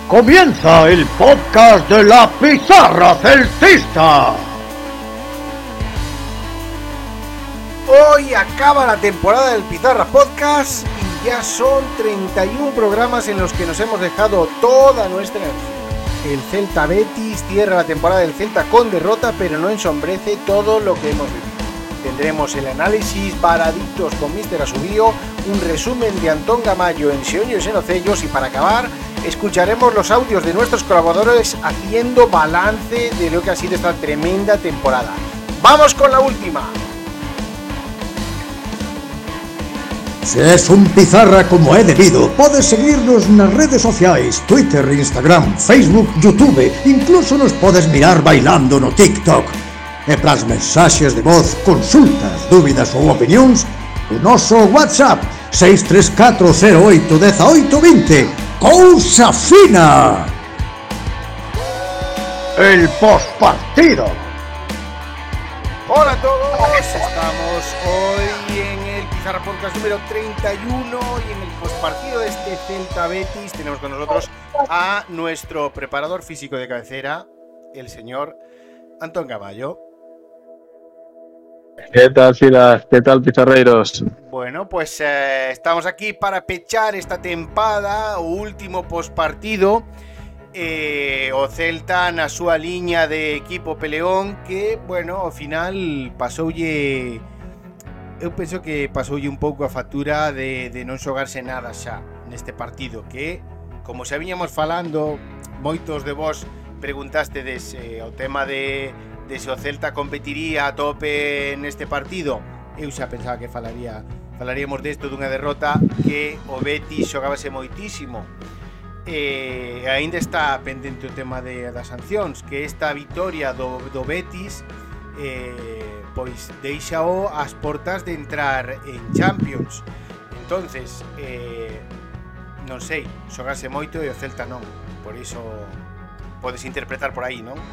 Comienza el podcast de la Pizarra Celtista. Hoy acaba la temporada del Pizarra Podcast y ya son 31 programas en los que nos hemos dejado toda nuestra energía. El Celta Betis cierra la temporada del Celta con derrota, pero no ensombrece todo lo que hemos vivido. Tendremos el análisis Varadictos con Mr. Asubío, un resumen de Antón Gamayo en Seoños y Nocellos y para acabar escucharemos los audios de nuestros colaboradores haciendo balance de lo que ha sido esta tremenda temporada. ¡Vamos con la última! Se es un Pizarra como é debido, podes seguirnos nas redes sociais, Twitter, Instagram, Facebook, YouTube, incluso nos podes mirar bailando no TikTok. E pras mensaxes de voz, consultas, dúbidas ou opinións, o noso WhatsApp 634081820. ¡Cousa fina! El postpartido. Hola a todos, estamos hoy en el Pizarra Podcast número 31 y en el postpartido de este Celta Betis tenemos con nosotros a nuestro preparador físico de cabecera, el señor Antón Gamayo. ¿Qué tal, Silas? ¿Qué tal, pizarreiros? Bueno, pues estamos aquí para pechar esta tempada, o último postpartido. O Celta na súa liña de equipo peleón que, bueno, ao final pasoulle, eu penso que pasoulle un pouco a factura de non xogarse nada xa neste partido, que, como xa viñamos falando, moitos de vos preguntastedes o tema de se o Celta competiría a tope neste partido. Eu xa pensaba que falaríamos desto dunha derrota que o Betis xogábase moitísimo. Ainda está pendente o tema das sancións, que esta vitoria do Betis pois deixao ás portas de entrar en Champions. Entonces non sei, xogase moito e o Celta non. Por iso podes interpretar por aí, non?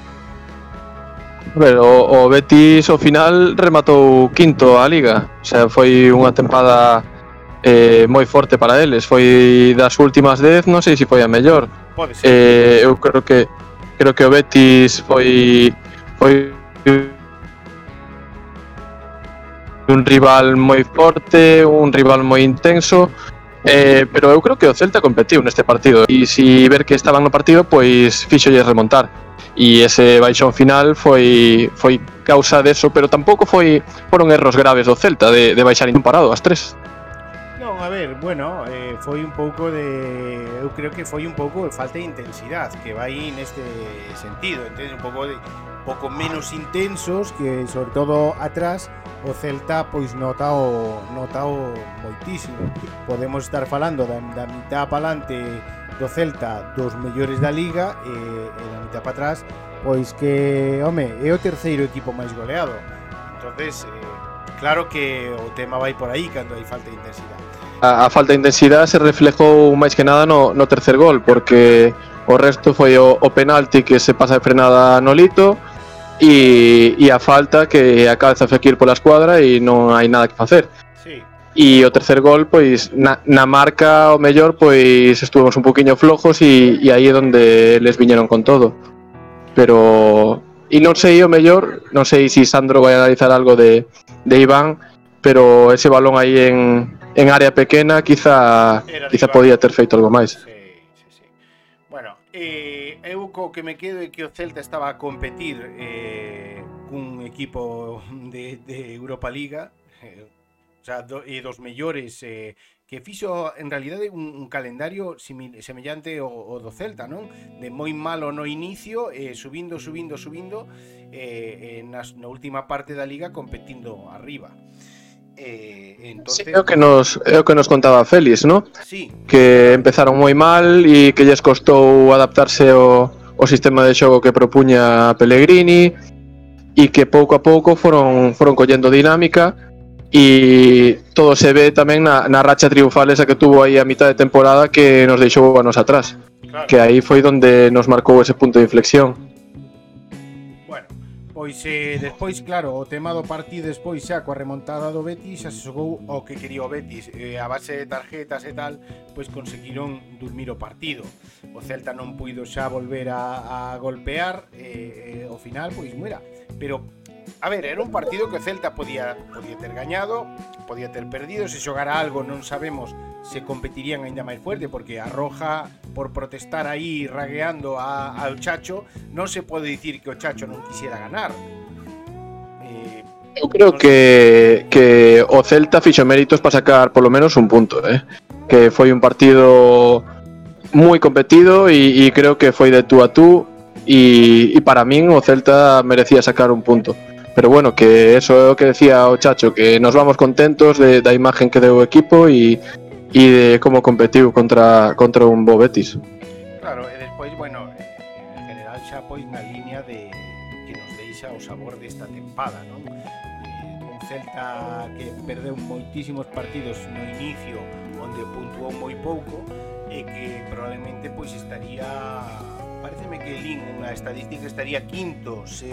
O Betis ao final rematou quinto a Liga. O sea, foi unha tempada moi forte para eles. Foi das últimas 10, non sei se foi a mellor. Pode ser. Eu creo que o Betis foi un rival moi forte, un rival moi intenso. Pero eu creo que o Celta competiu neste partido e se ver que estaban no partido, pois fíxolle remontar. E ese baixón final foi causa deso, pero tampouco foron erros graves do Celta de baixar parado as tres. Non, a ver, bueno, foi un pouco de, eu creo que foi un pouco de falta de intensidade, que vai neste sentido, entonces un pouco menos intensos, que sobre todo atrás o Celta pois notao moitísimo. Podemos estar falando da mitad para alante do Celta dos mellores da Liga e da mitad para atrás pois que, home, é o terceiro equipo máis goleado. Entonces, claro que o tema vai por aí cando hai falta de intensidade. A falta de intensidade se reflejou máis que nada no tercer gol, porque o resto foi o penalti que se pasa de frenada no Lito e a falta que a cabeza Fekir pola escuadra e non hai nada que facer. Sí. E o tercer gol, pois, na marca, o mellor, pois, estuvemos un poquinho flojos e aí é onde les viñeron con todo. Pero, e non sei o mellor, non sei se Sandro vai analizar algo de Iván, pero ese balón aí en área pequena, quizá podía ter feito algo máis. Sí. Bueno, eu co que me quedo é que o Celta estaba a competir cun equipo de Europa Liga, o sea, dos mellores que fixo en realidade un calendario semellante ao do Celta, non? De moi malo no inicio, subindo na última parte da Liga competindo arriba. Entonces, sí, é o que nos contaba Félix, ¿no? Sí. Que empezaron moi mal e que lles costou adaptarse ao sistema de xogo que propuña Pellegrini e que pouco a pouco foron collendo dinámica. E todo se ve tamén na racha triunfal esa que tuvo aí a mitad de temporada que nos deixou anos atrás, claro. Que aí foi donde nos marcou ese punto de inflexión. Bueno, Pois despois, claro, o tema do partido despois xa coa remontada do Betis xa se xogou o que quería o Betis, a base de tarjetas e tal, pois conseguiron dormir o partido. O Celta non puido xa volver a golpear, ao final, pois mira, pero a ver, era un partido que o Celta podía ter gañado, podía ter perdido, se xogara algo non sabemos se competirían aínda máis fuerte, porque a Roja, por protestar aí ragueando ao Chacho, non se pode dicir que o Chacho non quisiera ganar. Eu creo que o Celta fixo méritos para sacar polo menos un punto, que foi un partido moi competido e creo que foi de tú a tú e para min o Celta merecía sacar un punto. Pero bueno, que eso é o que decía o Chacho, que nos vamos contentos da imagen que deu o equipo e de como competiu contra un bo Betis. Claro, e despois, bueno, en general xa pois na línea de que nos deixa o sabor desta tempada, non? Un Celta que perdeu moitísimos partidos no inicio, onde puntuou moi pouco, e que probablemente pois estaría, pareceme que lín unha estadística, estaría quinto se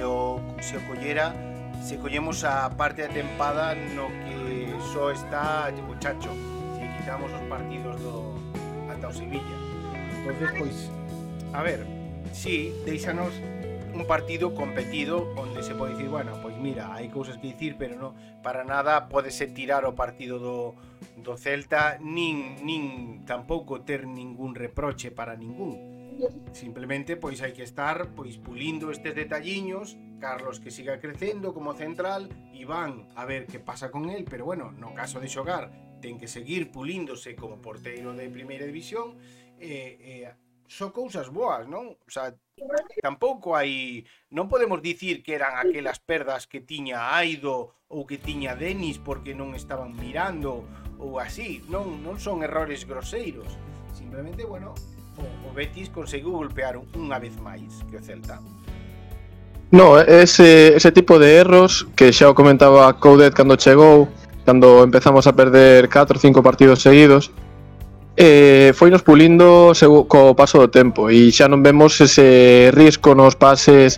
collemos a parte da tempada no que só está o Chacho, se quitamos os partidos ata o Sevilla. Entonces, pois, a ver, sí, deixanos un partido competido onde se pode dicir, bueno, pois mira, hai cousas que dicir, pero non, para nada pode ser tirar o partido do Celta, nin tampouco ter ningún reproche para ningún. Simplemente, pois hai que estar pois pulindo estes detalliños, Carlos que siga crecendo como central, Iván a ver que pasa con él, pero bueno, no caso de xogar ten que seguir pulíndose como porteiro de primeira división, son cousas boas, non? O sea, tampouco hai, non podemos dicir que eran aquelas perdas que tiña Aido ou que tiña Denis porque non estaban mirando ou así, non son errores groseiros, simplemente, bueno, o Betis conseguiu golpear unha vez máis que o Celta. No, ese tipo de erros que xa o comentaba Coudet cando chegou, cando empezamos a perder 4 ou 5 partidos seguidos, foinos pulindo co paso do tempo e xa non vemos ese risco nos pases,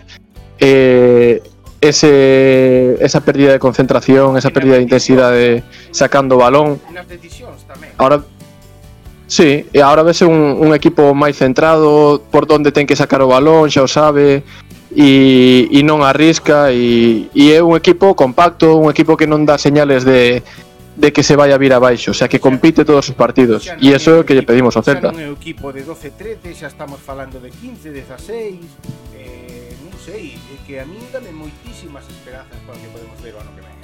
esa pérdida de concentración, esa pérdida de intensidade sacando o balón. Nas decisións tamén. Ahora sí, e agora vese un equipo máis centrado por onde ten que sacar o balón, xa o sabe, e non arrisca, e é un equipo compacto, un equipo que non dá señales de que se vai a vir abaixo, o sea, que compite todos os partidos, e iso é o que lle pedimos ao Celta. Xa non é o equipo de 12-13, xa estamos falando de 15-16, non sei, é que a mí dame moitísimas esperanzas para o que podemos ver o ano que ven.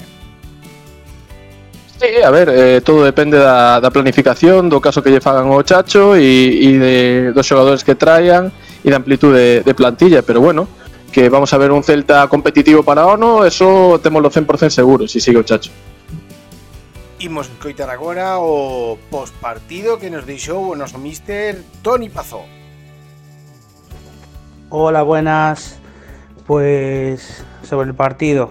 Sí, a ver, todo depende da planificación, do caso que lle fagan ao Chacho e dos xogadores que traian e da amplitude de plantilla, pero bueno, que vamos a ver un Celta competitivo para o ano, eso témoslo 100% seguro, se sigue o Chacho. Imos escoitar agora o postpartido que nos deixou o noso míster Toni Pazó. Hola, buenas. Pues sobre el partido,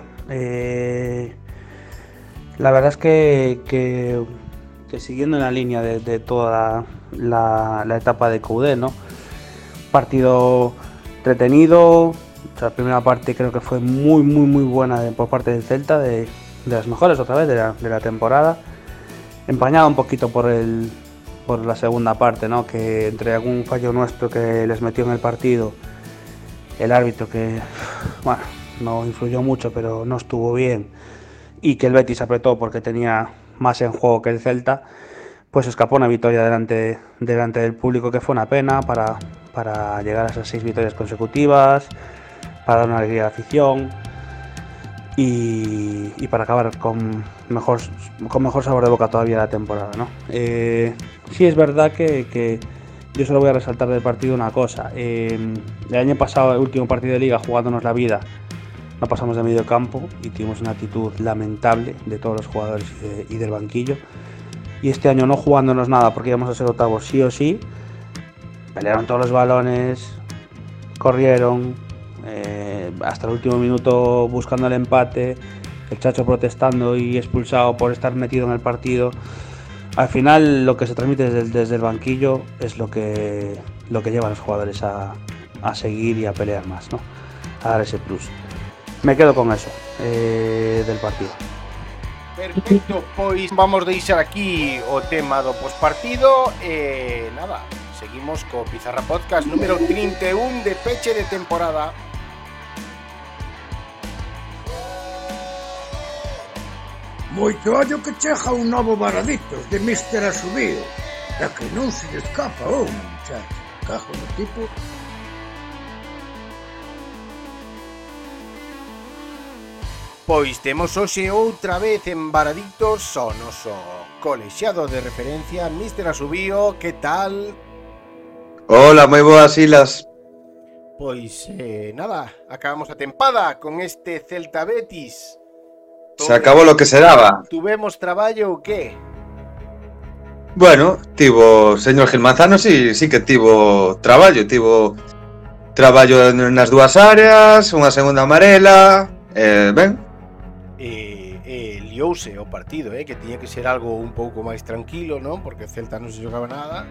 la verdad es que siguiendo en la línea de toda la etapa de Coudet, ¿no? Partido entretenido. O sea, la primera parte creo que fue muy buena por parte del Celta, de las mejores otra vez de la temporada, empañado un poquito por la segunda parte, ¿no? Que entre algún fallo nuestro que les metió en el partido, el árbitro que, bueno, no influyó mucho, pero no estuvo bien, y que el Betis apretó porque tenía más en juego que el Celta, pues escapó una victoria delante del público, que fue una pena para llegar a esas 6 victorias consecutivas, para dar una alegría a la afición y para acabar con mejor sabor de boca todavía la temporada, ¿no? Sí es verdad que yo solo voy a resaltar del partido una cosa. El año pasado, el último partido de Liga, jugándonos la vida, no pasamos de medio campo y tuvimos una actitud lamentable de todos los jugadores y del banquillo. Y este año, no jugándonos nada porque íbamos a ser octavos sí o sí, pelearon todos los balones, corrieron hasta el último minuto buscando el empate, el Chacho protestando y expulsado por estar metido en el partido. Al final lo que se transmite desde el banquillo es lo que lleva a los jugadores a seguir y a pelear más, ¿no? A dar ese plus. me quedo con eso del partido. Perfecto, pois vamos deixar aquí o tema do pospartido e nada, seguimos co Pizarra Podcast número 31 de peche de temporada. Moito ollo que chega un novo Varaditos de Mr. Asubío. É que non se lle escapa un, muchacho. Cajo no tipo. Pois temos hoxe outra vez en Varaditos o noso colexiado de referencia, Mr. Asubío, que tal? Hola, moi boas, Silas. Pois nada, acabamos a tempada con este Celta Betis. Se acabou lo que se daba. Tuvemos traballo ou que? Bueno, tivo, señor Gil Manzano, sí que tivo traballo nas dúas áreas, unha segunda amarela, ben. Liouse o partido, que tiña que ser algo un pouco máis tranquilo, non? Porque Celta non se jogaba nada.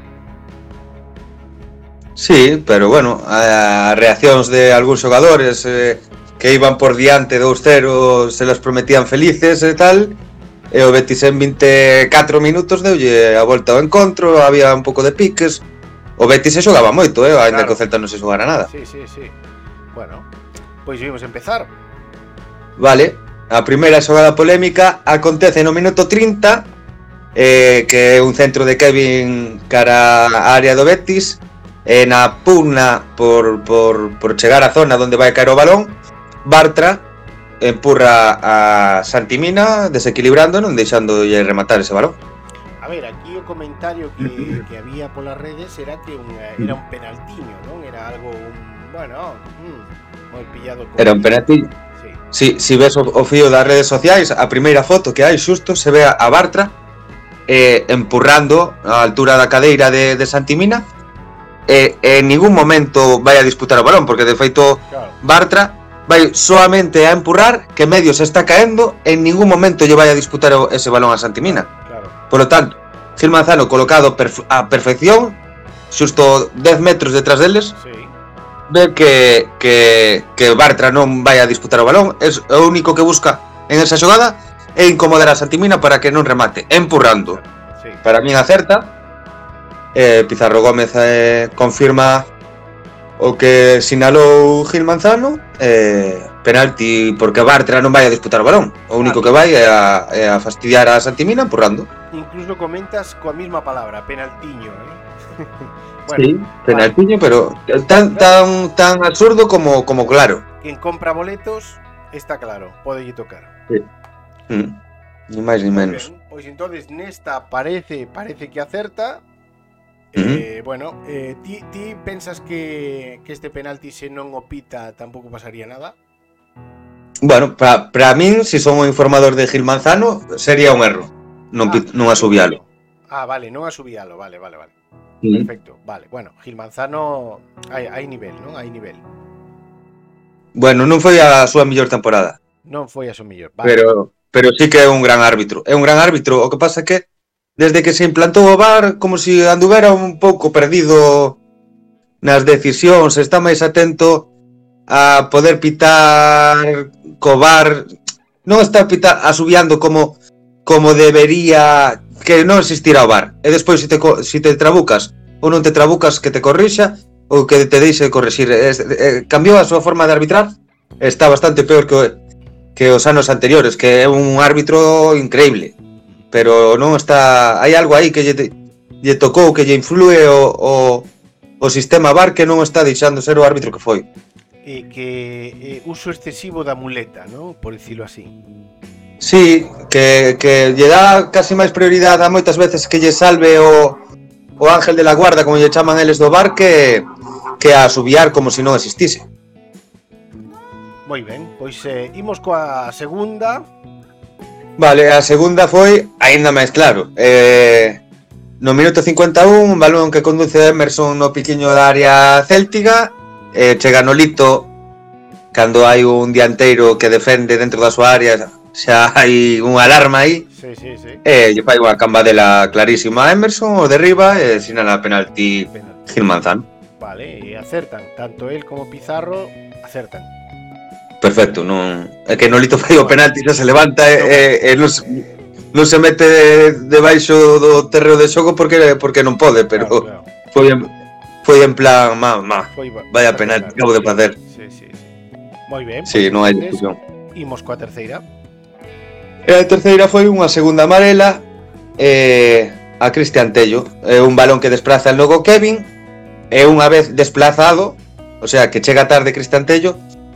Sí, pero bueno, as reaccións de algúns xogadores que iban por diante 2-0 se las prometían felices e tal, e o Betis en 24 minutos deulle a volta ao encontro, había un pouco de piques. O Betis se xogaba moito, ainda que o Celta non se xogara nada. Sí. Bueno, pois vimos empezar. Vale, a primeira xogada polémica acontece no minuto 30, que é un centro de Kevin cara á área do Betis, e na pugna por chegar á zona onde vai caer o balón, Bartra empurra a Santimina desequilibrando, non deixándolle rematar ese balón. A ver, aquí o comentario que había polas redes era que era un penaltiño, non? Era algo, moi pillado. Era un penaltiño. Si ves o fío das redes sociais, a primeira foto que hai xusto se ve a Bartra empurrando a altura da cadeira de Santimina, e en ningún momento vai a disputar o balón, porque de feito Bartra vai solamente a empurrar, que medio se está caendo, en ningún momento lle vai a disputar ese balón a Santimina. Por lo tanto, Gil Manzano colocado a perfección, xusto 10 metros detrás deles, ve que Bartra non vai a disputar o balón. É o único que busca en esa xogada é incomodar a Santimina para que non remate, empurrando. Para min acerta. Pizarro Gómez confirma o que sinalou Gil Manzano, penalti porque Bartra non vai a disputar o balón. O único que vai é a fastidiar a Santimina empurrando. Incluso comentas coa mesma palabra, penaltiño, Bueno, sí, penaltiño, pero tan absurdo como claro. Quen compra boletos está claro, podelle tocar. Sí. Ni máis ni menos. Pois entonces nesta parece que acerta. Bueno, ti pensas que este penalti se non o pita tampouco pasaría nada? Bueno, para min, se son o informador de Gil Manzano, sería un erro non asubialo. Vale, non asubialo, vale. Perfecto, vale. Bueno, Gil Manzano hai nivel, non? Hai nivel. Bueno, non foi a súa mellor temporada. Non foi a súa mellor, vale. Pero sí que é un gran árbitro. É un gran árbitro, o que pasa é que desde que se implantou o VAR, como se anduvera un pouco perdido nas decisións, está máis atento a poder pitar co VAR, non está asubiando como debería, que non existirá o VAR. E despois se te trabucas ou non te trabucas, que te corrixa ou que te deixe corrixir. Cambiou a súa forma de arbitrar, está bastante peor que os anos anteriores, que é un árbitro increíble, pero non está, hai algo aí que lle tocou, que lle influe o sistema VAR, que non está deixando ser o árbitro que foi. Que uso excesivo da muleta, ¿no? Por dicilo así. Sí, que lle dá casi máis prioridade a moitas veces que lle salve o ángel de la guarda, como lle chaman eles do VAR, que a asubiar como se non existise. Moi ben, pois imos coa segunda. Vale, a segunda foi aínda máis claro. No minuto 51, un balón que conduce Emerson no piquiño da área céltica, chega Nolito cando hai un dianteiro que defende dentro da súa área, xa hai unha alarma aí. Sí. Lle fai unha cambadela clarísima a Emerson, o derriba e sinala penalti Gil Manzano. Vale, e acertan, tanto él como Pizarro acertan. perfecto, non é que Nolito fai o penalti, xa se levanta e non se mete debaixo do terreo de xogo porque non pode, pero claro. Foi en plan, vaya penalti que acabo de facer. Sí. Moi ben. Sí, non hai discusión. Imos coa terceira. E a terceira foi unha segunda amarela a Cristian Tello. É un balón que desplaza logo Kevin, e unha vez desplazado, o sea, que chega tarde Cristian Tello,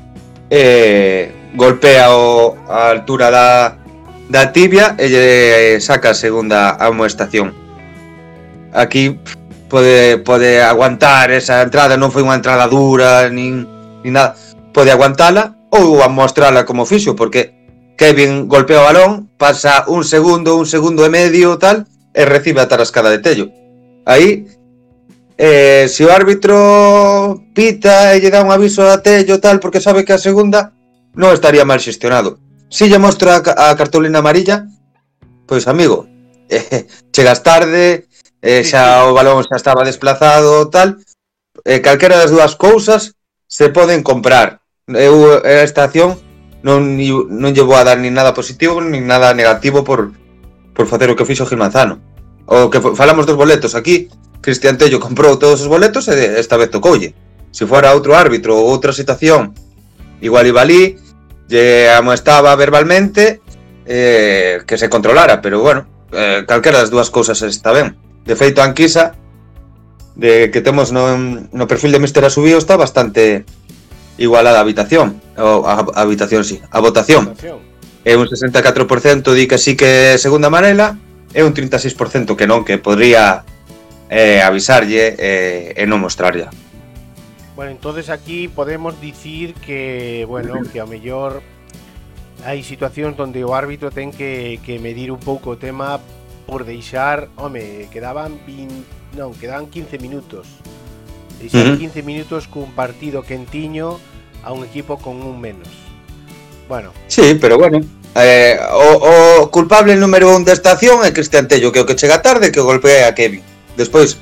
golpea a altura da tibia e lle saca a segunda amoestación. Aquí pode aguantar esa entrada, non foi unha entrada dura nin nada, pode aguantala ou amostrala como fixo, porque Kevin golpea o balón, pasa un segundo e medio tal, e recibe a tarascada de Tello. Aí se o árbitro pita e lle dá un aviso a Tello tal, porque sabe que a segunda non estaría mal xestionado. Si lle mostra a cartolina amarilla, pois amigo, chegas tarde, xa o balón xa estaba desplazado tal, calquera das dúas cousas se poden comprar. Eu esta acción non lle vou a dar nin nada positivo nin nada negativo por facer o que fixo Gil Manzano. O que falamos dos boletos aquí, Cristian Tello comprou todos os boletos e esta vez tocoulle. Se fora outro árbitro ou outra situación, igual iba ali, lle amoestaba verbalmente que se controlara, pero bueno, calquera das dúas cousas está ben. De feito, a enquisa que temos no perfil de Mr. Asubío está bastante igualada a votación. É un 64% di que sí que é segunda amarela e un 36% que non, que podría avisarlle e non mostrarlle. Bueno, entonces aquí podemos dicir que, bueno, que a mellor hai situacións onde o árbitro ten que medir un pouco o tema por deixar, quedaban 15 minutos. Deixar 15 minutos cun partido quentiño a un equipo con un menos. Bueno. Sí, pero bueno, o culpable número 1 desta acción é Cristian Tello, que o que chega tarde que golpea a Kevin. Despois,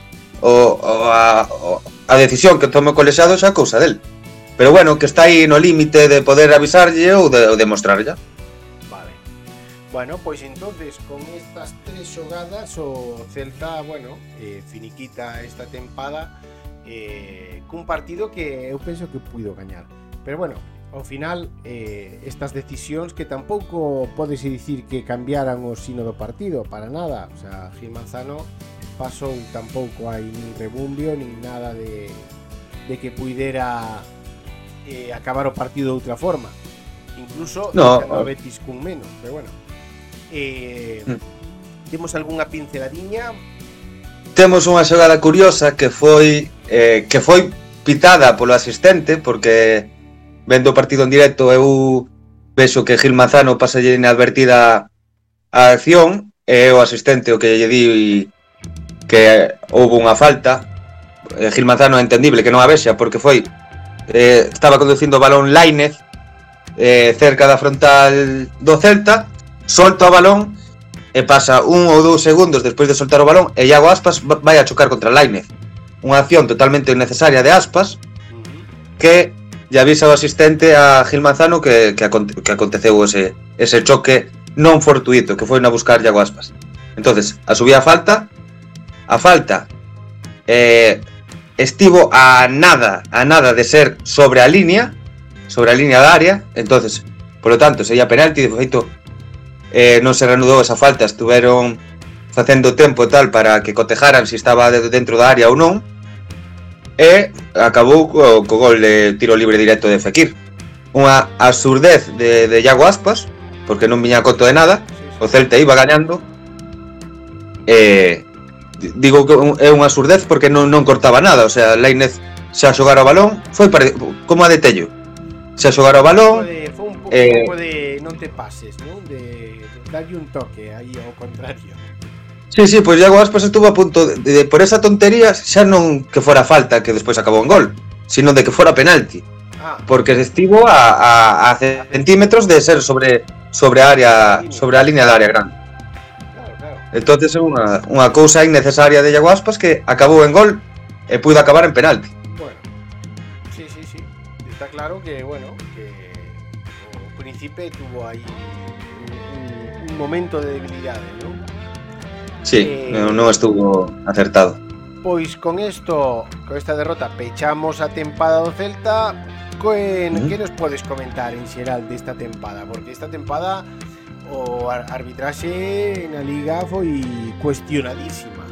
a decisión que tome o colexiado xa a cousa del. Pero bueno, que está aí no límite de poder avisarlle ou de mostrarlle. Vale. Bueno, pois entonces con estas tres xogadas o Celta, bueno, finiquita esta tempada cun partido que eu penso que puido gañar. Pero bueno, ao final estas decisións que tampouco podese dicir que cambiaran o sino do partido, para nada. O sea, Gil Manzano pasou, tampouco hai nin rebumbio nin nada de que puidera acabar o partido de outra forma. Incluso a Betis cun menos, pero bueno. Temos algunha pinceladiña? Temos unha xogada curiosa que foi pitada polo asistente, porque vendo o partido en directo eu vexo que Gil Manzano pasalle inadvertida a acción e o asistente o que lle di que houve unha falta. Gil Manzano é entendible que non a vexa porque estaba conducindo o balón Lainez cerca da frontal do Celta, solta o balón e pasa 1 ou 2 segundos despois de soltar o balón e Iago Aspas vai a chocar contra Lainez. Unha acción totalmente innecesaria de Aspas que lle avisa o asistente a Gil Manzano que aconteceu ese choque non fortuito, que foi na buscar Iago Aspas. Entonces, asubía a falta estivo a nada de ser sobre a línea da área. Entonces, polo tanto, sería penalti. De feito, non se reanudou esa falta, estuveron facendo tempo tal para que cotejaran se estaba dentro da área ou non, e acabou co gol de tiro libre directo de Fekir. Unha absurdez de Iago Aspas, porque non viña a conto de nada. O Celta iba gañando, digo que é unha absurdez porque non cortaba nada. O sea, Lainez xa xogara o balón, foi como a de Tello, xa xogara o balón. Foi un pouco de non te pases, non? De darlle un toque aí ao contrario. Sí, pois Iago Aspas estuvo a punto de por esa tontería, xa non que fora falta que despois acabou en gol, sino de que fora penalti. Porque estivo a centímetros de ser sobre a línea da área grande. Claro. Entonces é unha cousa innecesaria de Iago Aspas que acabou en gol e puido acabar en penalti. Bueno, sí. Está claro que, bueno, príncipe tuvo aí un momento de debilidade, non? Sí, non estuvo acertado. Pois con esta derrota pechamos a tempada do Celta. Que nos podes comentar en xeral desta tempada? Porque esta tempada o arbitraxe na Liga foi cuestionadísima.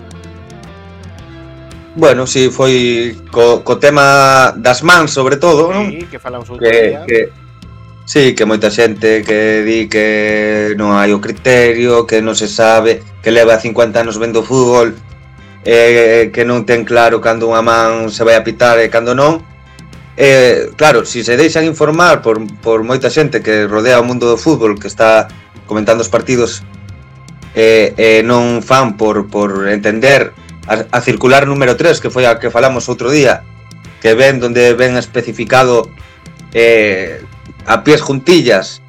Bueno, si foi co tema das mans, sobre todo, non? Sí, que falamos outro día. Sí, que moita xente que di que non hai o criterio, que non se sabe, que leva 50 anos vendo fútbol, que non ten claro cando unha man se vai a pitar e cando non. Claro, si se deixan informar por moita xente que rodea o mundo do fútbol, que está comentando os partidos, non fan por entender a circular número 3, que foi a que falamos outro día, que ven donde ven especificado a pies juntillas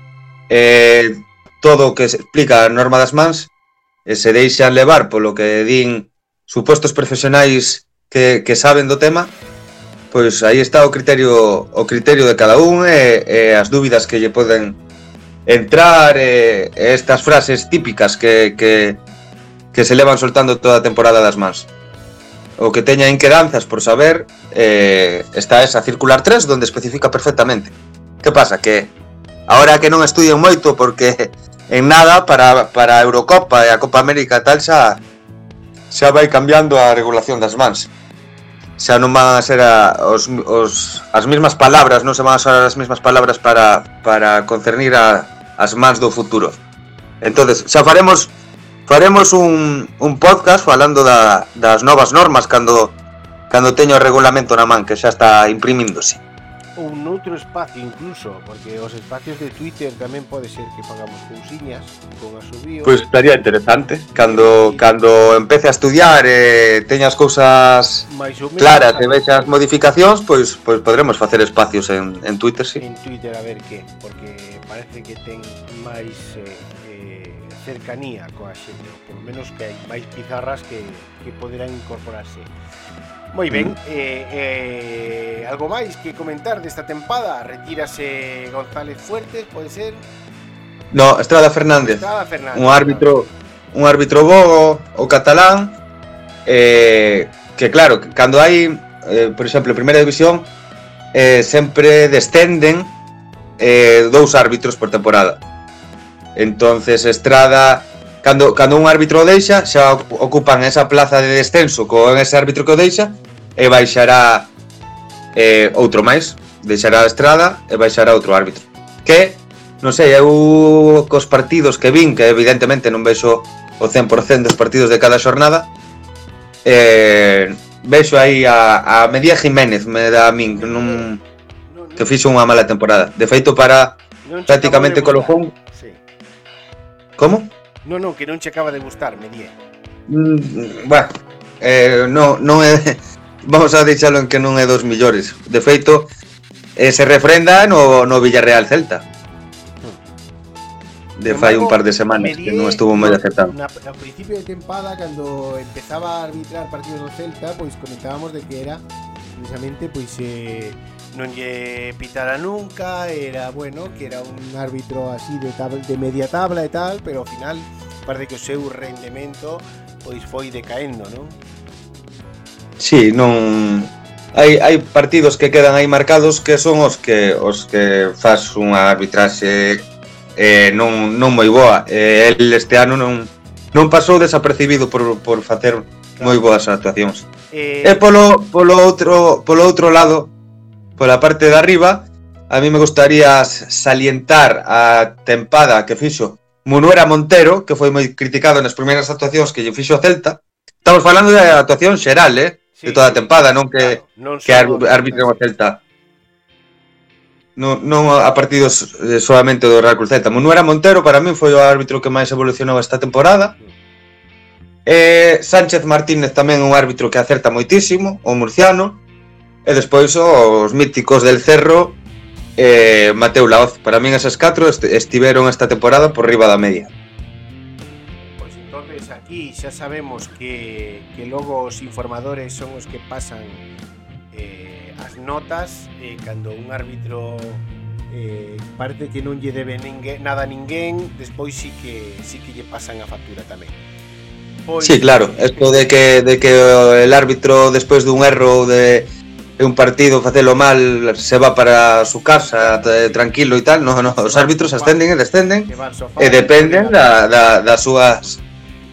todo o que se explica a norma das mans, e se deixan levar polo que din supostos profesionais que saben do tema, pois aí está o criterio de cada un e as dúbidas que lle poden entrar, estas frases típicas que se levan soltando toda a temporada das mans. O que teña inquedanzas por saber, está esa circular 3 donde especifica perfectamente. Que pasa? Que ahora que non estudien moito, porque en nada para a Eurocopa e a Copa América tal xa vai cambiando a regulación das mans. Xa non van a ser as mesmas palabras, non se van a usar as mesmas palabras para concernir as mans do futuro. Entonces, xa faremos un podcast falando das novas normas cando teño o regulamento na man, que xa está imprimíndose. Un outro espacio incluso, porque os espacios de Twitter tamén pode ser que pagamos cousiñas con a subío. Pois estaría interesante cando empece a estudiar e teña as cousas claras e vexa as modificacións, pois podremos facer espacios en Twitter, sí. En Twitter a ver que, porque parece que ten máis cercanía coa xente, por lo menos que hai máis pizarras que poderán incorporarse. Moi ben, algo máis que comentar desta tempada? Retírase González Fuertes, pode ser? No, Estrada Fernández. Un árbitro bo, o catalán, que claro, cando hai, por exemplo, en Primeira División, sempre descenden 2 árbitros por temporada. Entonces Estrada, cando un árbitro o deixa, xa ocupan esa plaza de descenso con ese árbitro que o deixa, e baixará outro máis, deixará a Estrada e baixará outro árbitro. Que, non sei, eu cos partidos que vin, que evidentemente non vexo o 100% dos partidos de cada xornada, vexo aí a Medía Jiménez, me dá a min que fixo unha mala temporada. De feito, para prácticamente Colofón. Sí. Como? Non, que non che acaba de gustar, Medía. Bueno, non é, vamos a deixalo en que non é dos millores. De feito, se refrenda no Villarreal Celta. De fai un par de semanas que non estuvo moi acertado. A principio de tempada, cando empezaba a arbitrar partidos do Celta, pois comentábamos de que era precisamente non lle pitara nunca, era bueno, que era un árbitro así de media tabla e tal, pero ao final parece que o seu rendemento pois foi decaendo, non? Sí, non hai partidos que quedan aí marcados que son os que faz unha arbitraxe non moi boa. El este ano non pasou desapercibido por facer moi boas actuacións. E polo outro lado, pola parte de arriba, a mí me gustaría salientar a tempada que fixo Munuera Montero, que foi moi criticado nas primeiras actuacións que lle fixo a Celta. Estamos falando de actuación xeral, sí, de toda a tempada, non que arbitre o Celta. Non a partidos solamente do Real Cruz Celta. Munuera Montero para min foi o árbitro que máis evolucionou esta temporada. Sánchez Martínez tamén un árbitro que acerta moitísimo, o murciano. E despois os míticos del Cerro, Mateu Laoz. Para min esas 4 estiveron esta temporada por riba da media. Pois entonces aquí xa sabemos que logo os informadores son os que pasan as notas, cando un árbitro parece que non lle debe nada a ninguén, despois sí que lle pasan a factura tamén. Pois, sí, claro, esto de que el árbitro despois dun erro de un partido facelo mal se va para su casa tranquilo e tal, no, os árbitros ascenden e descenden e dependen das súas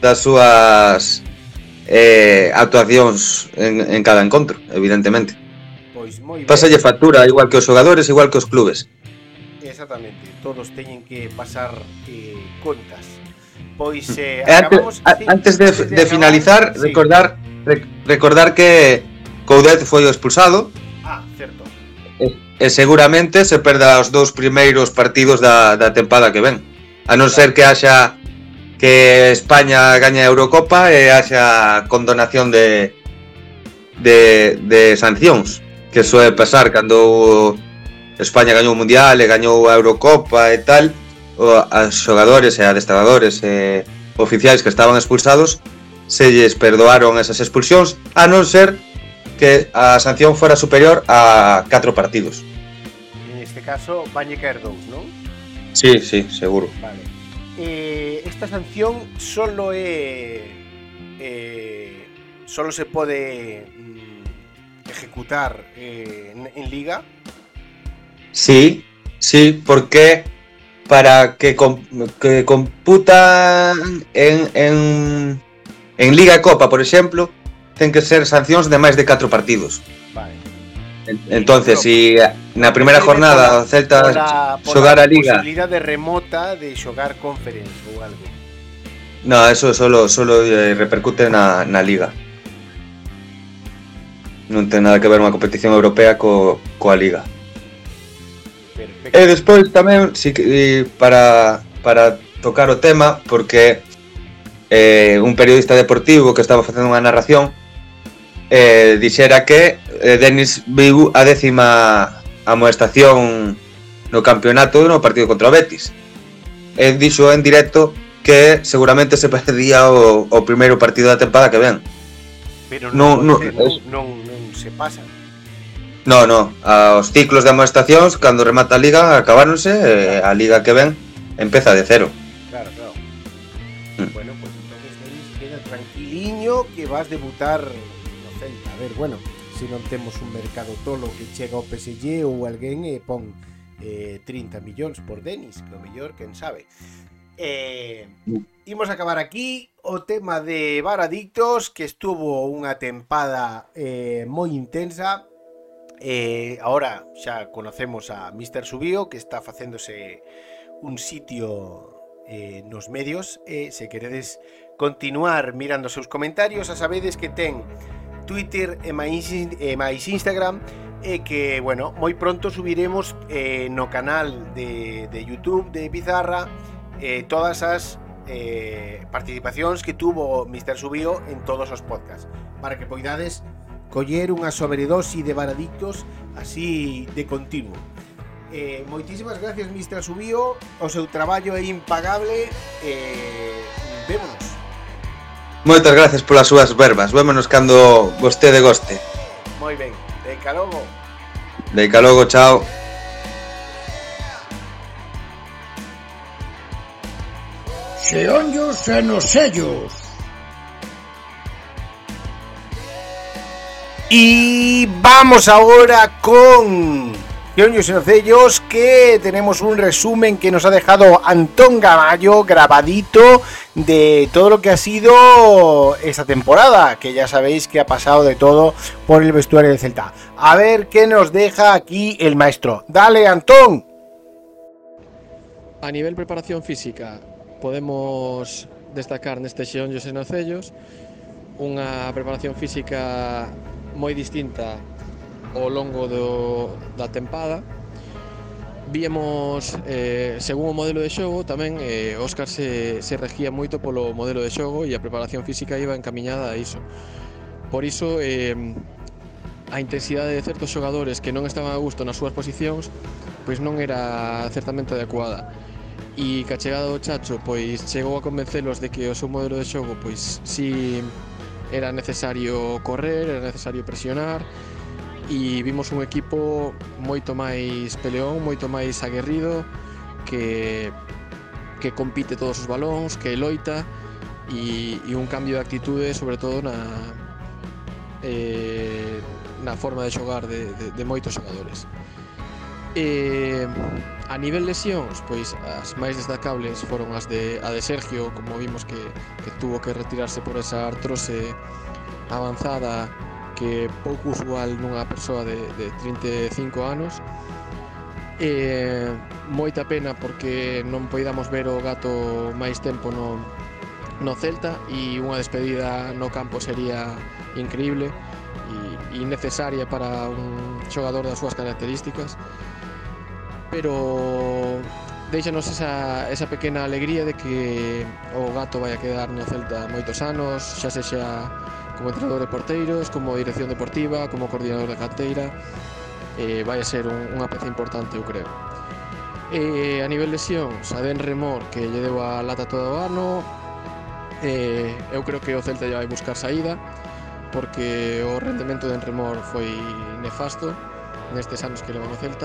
actuacións en cada encontro, evidentemente. Pois moi ben. Pásalle factura igual que os xogadores, igual que os clubes. Exactamente, todos teñen que pasar contas. Pois antes de finalizar, sí. recordar que Coudet foi expulsado. Certo. E seguramente se perda os 2 primeiros partidos da tempada que ven. A non ser que haxa que España gañe a Eurocopa e haxa condonación de sancións, que suele pasar cando España gañou o Mundial e gañou a Eurocopa e tal, os xogadores e adestradores e oficiais que estaban expulsados se lles perdoaron esas expulsións, a non ser que a sanción fuera superior a 4 partidos. En este caso van a caer 2, ¿no? Sí, seguro. Vale. Esta sanción solo se puede ejecutar en liga. Sí, porque para que computan en Liga e Copa, por exemplo, ten que ser sancións de máis de 4 partidos. Vale. Entonces, si na primeira jornada o Celta xogar a Liga, posibilidade remota de xogar Conference ou algo. No, eso solo repercute na Liga. Non ten nada que ver unha competición europea coa Liga. Perfecto. E despois tamén para tocar o tema, porque un periodista deportivo que estaba facendo unha narración dixera que Denis viu a 10ª amoestación no campeonato no partido contra o Betis. Dixo en directo que seguramente se perdía o primeiro partido da tempada que ven. Pero non se pasan. No, os ciclos de amoestacións cando remata a Liga acabáronse, a Liga que ven empeza de cero. Claro. Bueno, pues entonces Denis queda tranquiliño que vas debutar no Celta. A ver, bueno, se non temos un mercado tolo que chega ao PSG ou alguén pon 30 millóns por Denis, que o mellor, quen sabe. Imos acabar aquí o tema de Varadictos, que estuvo unha tempada moi intensa. Ahora xa conocemos a Mr. Subío, que está facéndose un sitio nos medios. Se queredes continuar mirando os seus comentarios, a sabedes que ten Twitter e máis Instagram, e que, bueno, moi pronto subiremos no canal de YouTube de Pizarra todas as participacións que tuvo Mr. Subío en todos os podcasts, para que poidades coller unha sobredosi de Varadictos así de continuo. Moitísimas gracias, Mr. Subío, o seu traballo é impagable. Vémonos. Moitas gracias polas súas verbas. Vémonos cando vostede goste. Moi ben, deica logo. Deica logo, chao. Xeonllos e nos sellos. Y vamos ahora con Xeonllos e nos sellos, que tenemos un resumen que nos ha dejado Antón Gamallo grabadito de todo lo que ha sido esta temporada, que ya sabéis que ha pasado de todo por el vestuario del Celta. A ver qué nos deja aquí el maestro. Dale, Antón. A nivel preparación física, podemos destacar neste Xeonllos e nos sellos unha preparación física moi distinta ao longo da tempada. Víamos, según o modelo de xogo, tamén Óscar se regía moito polo modelo de xogo e a preparación física iba encamiñada a iso. Por iso, a intensidade de certos xogadores que non estaban a gusto nas súas posicións pois non era certamente adecuada. E que a chegada do Chacho pois chegou a convencelos de que o seu modelo de xogo pois si era necesario correr, era necesario presionar, e vimos un equipo moito máis peleón, moito máis aguerrido, que compite todos os balóns, que loita, e un cambio de actitude, sobre todo na forma de xogar de moitos xogadores. A nivel lesións, pois as máis destacables foron a de Sergio, como vimos que tuvo que retirarse por esa artrose avanzada, que pouco usual nunha persoa de 35 anos. Moita pena porque non poidamos ver o Gato máis tempo no Celta, e unha despedida no campo sería increíble e necesaria para un xogador das súas características, pero deixanos esa pequena alegría de que o Gato vai a quedar no Celta moitos anos, xa sexa como entrenador de porteiros, como dirección deportiva, como coordinador de canteira. Vai a ser unha peza importante, eu creo. A nivel lesións, a de Enremor, que lle deu a lata todo o ano, eu creo que o Celta lle vai buscar saída, porque o rendemento de Enremor foi nefasto nestes anos que leva no Celta.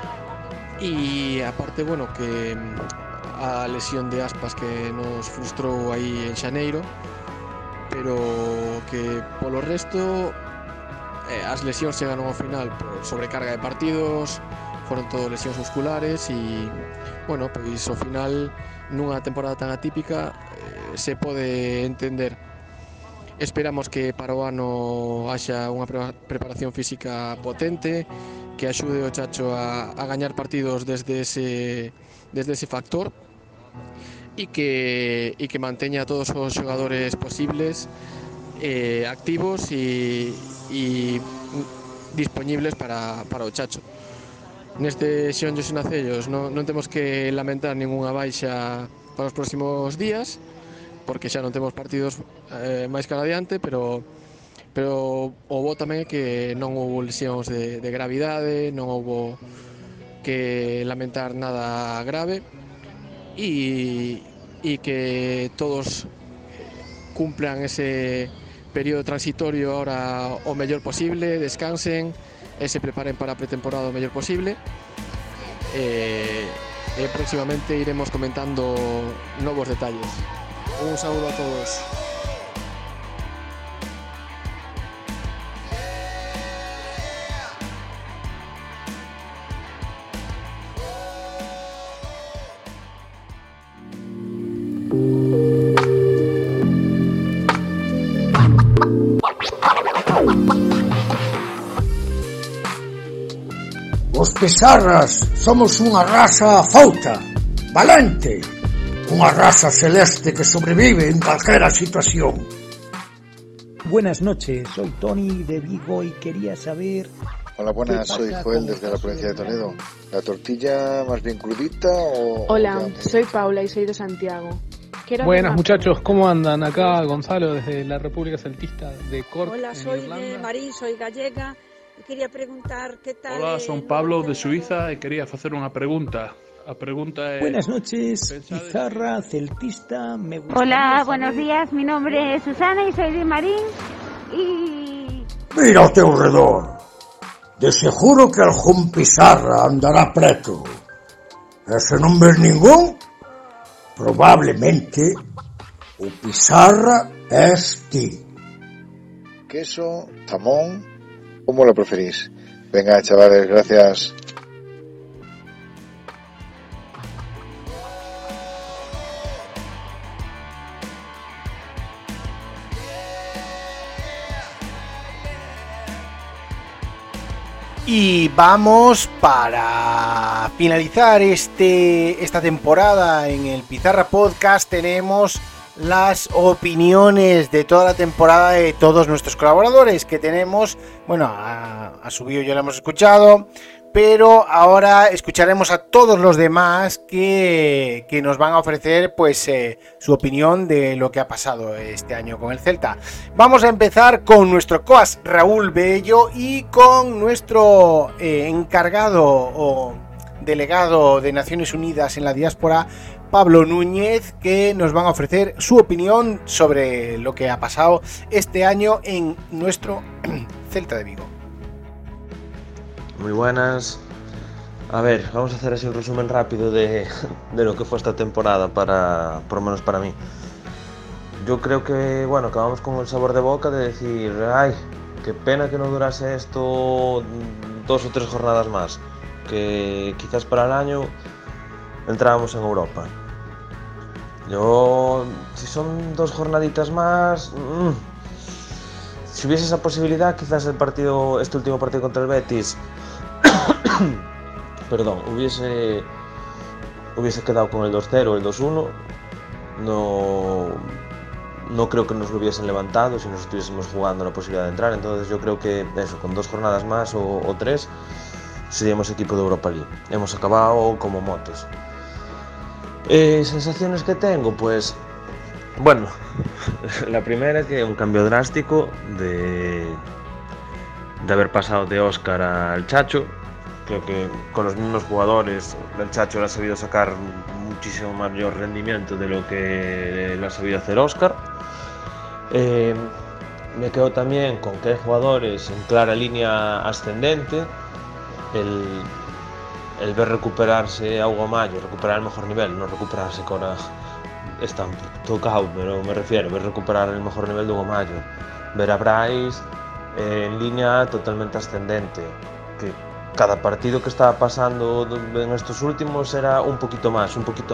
E aparte, bueno, que a lesión de Aspas que nos frustrou aí en xaneiro, pero que polo resto as lesións chegaron ao final por sobrecarga de partidos, foron todo lesións musculares e, bueno, pois ao final nunha temporada tan atípica se pode entender. Esperamos que para o ano haxa unha preparación física potente, que axude o Chacho a gañar partidos desde ese factor, e que manteña a todos os xogadores posibles activos e dispoñibles para o Chacho. Neste Xión José Nacellos non temos que lamentar ningunha baixa para os próximos días, porque xa non temos partidos máis cara adiante, pero o bo tamén é que non houbo lesións de gravidade, non houbo que lamentar nada grave, e que todos cumplan ese período transitorio ahora o mellor posible, descansen e se preparen para a pretemporada o mellor posible. Próximamente iremos comentando novos detalles. Un saúdo a todos. Os Pizarras somos unha raza fouta, valente, unha raza celeste que sobrevive en calquera situación. Buenas noches, soy Tony de Vigo y quería saber... Hola, buenas, soy Joel desde la provincia de Toledo. ¿La tortilla más bien crudita o...? Hola, soy Paula y soy de Santiago. Buenas muchachos, ¿cómo andan? Acá Gonzalo desde la República Celtista de Cork. Hola, soy de Marín, soy gallega. Quería preguntar qué tal... Hola, son Pablo de Suiza y quería hacer una pregunta. La pregunta es... Buenas noches, Pizarra, celtista, me gusta... Hola, buenos días, mi nombre es Susana y soy de Marín y... Mira ao teu redor, de seguro que algún Pizarra andará preto. E se non ves ningún, probablemente o Pizarra es ti. Queso, jamón, ¿cómo lo preferís? Venga, chavales, gracias. Y vamos para finalizar esta temporada en el Pizarra Podcast. Tenemos las opiniones de toda la temporada de todos nuestros colaboradores que tenemos. Bueno, a Subido ya lo hemos escuchado, pero ahora escucharemos a todos los demás que nos van a ofrecer pues su opinión de lo que ha pasado este año con el Celta. Vamos a empezar con nuestro coas Raúl Bello y con nuestro encargado o delegado de Naciones Unidas en la diáspora, Pablo Núñez, que nos van a ofrecer su opinión sobre lo que ha pasado este año en nuestro Celta de Vigo. Muy buenas. A ver, vamos a hacer así un resumen rápido de lo que fue esta temporada, por lo menos para mí. Yo creo que, bueno, acabamos con el sabor de boca de decir, ay, qué pena que no durase esto 2 o 3 jornadas más, que quizás para el año entrábamos en Europa. Yo, si son 2 jornaditas más, si hubiese esa posibilidad, quizás este último partido contra el Betis, perdón, hubiese quedado con el 2-0 o el 2-1. No creo que nos lo hubiesen levantado si nos estuviésemos jugando la posibilidad de entrar. Entonces yo creo que eso, con 2 jornadas más o 3, seríamos equipo de Europa League. Hemos acabado como motos. Sensaciones que tengo, pues bueno, la primera es que un cambio drástico de haber pasado de Óscar al Chacho. Creo que con los mismos jugadores el Chacho le ha sabido sacar muchísimo mayor rendimiento de lo que le ha sabido hacer Óscar. Me quedo también con que hay jugadores en clara línea ascendente. El ver recuperarse a Hugo Mayo, recuperar el mejor nivel, no recuperarse que ahora está tocado, pero me refiero, ver recuperar el mejor nivel de Hugo Mayo, ver a Bryce en línea totalmente ascendente, que cada partido que estaba pasando en estos últimos era un poquito más.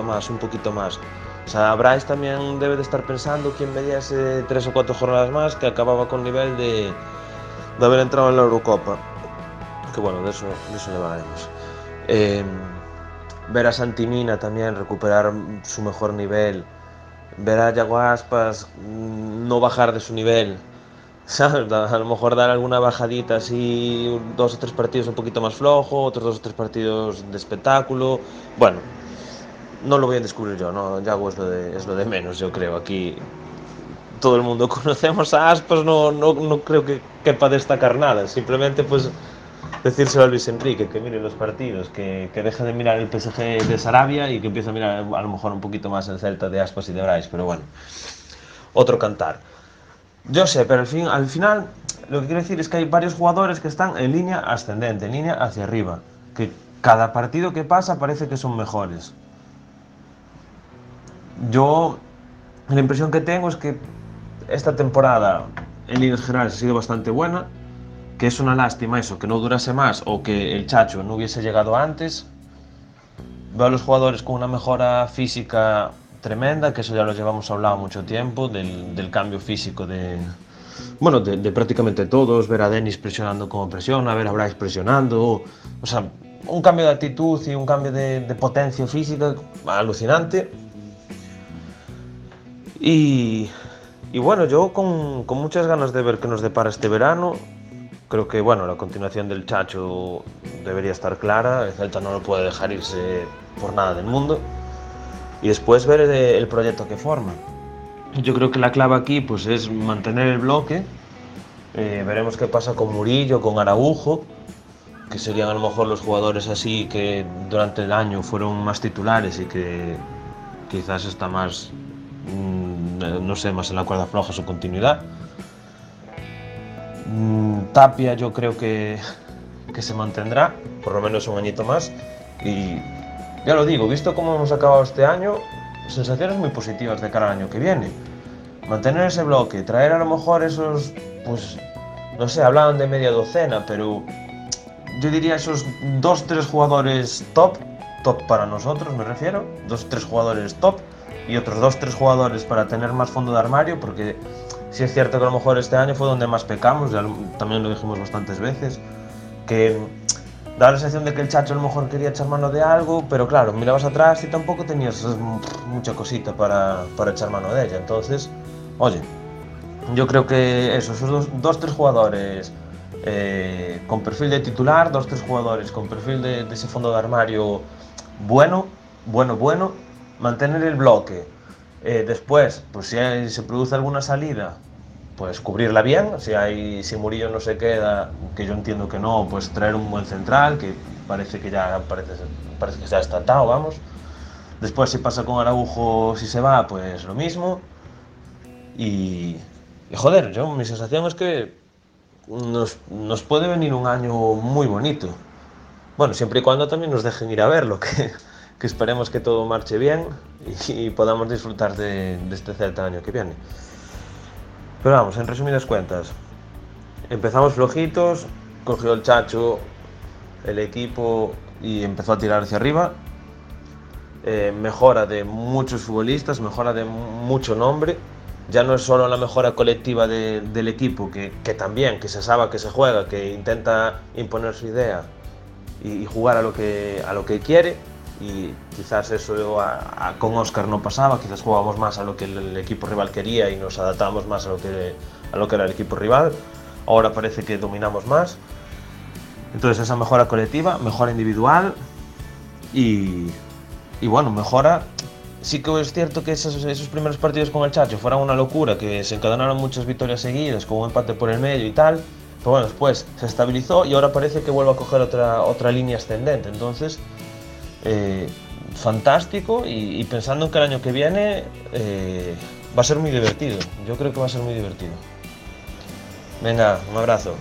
O sea, Bryce también debe de estar pensando quién veía ese 3 o 4 jornadas más que acababa con nivel de haber entrado en la Eurocopa. Que bueno, de eso le hablaremos. Ver a Santimina también recuperar su mejor nivel, ver a Yago Aspas no bajar de su nivel, ¿sabes? A lo mejor dar alguna bajadita así, 2 o 3 partidos un poquito más flojo, otros 2 o 3 partidos de espectáculo. Bueno, no lo voy a descubrir yo, ¿no? Yago es lo de menos, yo creo. Aquí todo el mundo conocemos a Aspas, no creo que quepa destacar nada, simplemente pues decírselo a Luis Enrique, que mire los partidos, que deje de mirar el PSG de Sarabia y que empiece a mirar a lo mejor un poquito más el Celta de Aspas y de Bryce, pero bueno, otro cantar. Yo sé, pero al final lo que quiero decir es que hay varios jugadores que están en línea ascendente, en línea hacia arriba, que cada partido que pasa parece que son mejores. Yo, la impresión que tengo es que esta temporada en líneas generales ha sido bastante buena, que es una lástima eso, que no durase más o que el Chacho no hubiese llegado antes. Veo a los jugadores con una mejora física tremenda, que eso ya lo llevamos hablado mucho tiempo, del cambio físico de prácticamente todos, ver a Denis presionando como presiona, ver a Bryce presionando, o sea, un cambio de actitud y un cambio de potencia física alucinante. Y bueno, yo con muchas ganas de ver qué nos depara este verano. Creo que bueno, la continuación del Chacho debería estar clara, el Celta no lo puede dejar irse por nada del mundo. Y después ver el proyecto que forma. Yo creo que la clave aquí pues, es mantener el bloque. Veremos qué pasa con Murillo, con Araujo, que serían a lo mejor los jugadores así que durante el año fueron más titulares y que quizás está más, no sé, más en la cuerda floja su continuidad. Tapia yo creo que se mantendrá por lo menos un añito más y ya lo digo, visto cómo hemos acabado este año, sensaciones muy positivas de cara al año que viene. Mantener ese bloque, traer a lo mejor esos, pues no sé, hablaban de media docena, pero yo diría esos 2-3 jugadores top para nosotros me refiero, 2-3 jugadores top y otros 2-3 jugadores para tener más fondo de armario, porque sí es cierto que a lo mejor este año fue donde más pecamos, ya también lo dijimos bastantes veces, que daba la sensación de que el Chacho a lo mejor quería echar mano de algo, pero claro, mirabas atrás y tampoco tenías mucha cosita para echar mano de ella. Entonces, oye, yo creo que eso, esos 2-3 jugadores con perfil de titular, 2-3 jugadores con perfil de ese fondo de armario bueno, mantener el bloque. Después, pues si se produce alguna salida, pues cubrirla bien. Si Murillo no se queda, que yo entiendo que no, pues traer un buen central, que parece que ya está atado, vamos. Después si pasa con Araujo, si se va, pues lo mismo. Y joder, mi sensación es que nos puede venir un año muy bonito. Bueno, siempre y cuando también nos dejen ir a verlo, que esperemos que todo marche bien y podamos disfrutar de este Celta el año que viene. Pero vamos, en resumidas cuentas, empezamos flojitos, cogió el Chacho el equipo y empezó a tirar hacia arriba. Mejora de muchos futbolistas, mejora de mucho nombre. Ya no es solo la mejora colectiva del equipo, que también, que se sabe que se juega, que intenta imponer su idea y jugar a lo que quiere, y quizás eso con Óscar no pasaba, quizás jugábamos más a lo que el equipo rival quería y nos adaptábamos más a lo que era el equipo rival. Ahora parece que dominamos más. Entonces esa mejora colectiva, mejora individual y bueno, mejora. Sí que es cierto que esos primeros partidos con el Chacho fueron una locura, que se encadenaron muchas victorias seguidas, con un empate por el medio y tal. Pero bueno, después se estabilizó y ahora parece que vuelve a coger otra línea ascendente. Entonces, fantástico, y pensando en que el año que viene va a ser muy divertido. Yo creo que va a ser muy divertido. Venga, un abrazo.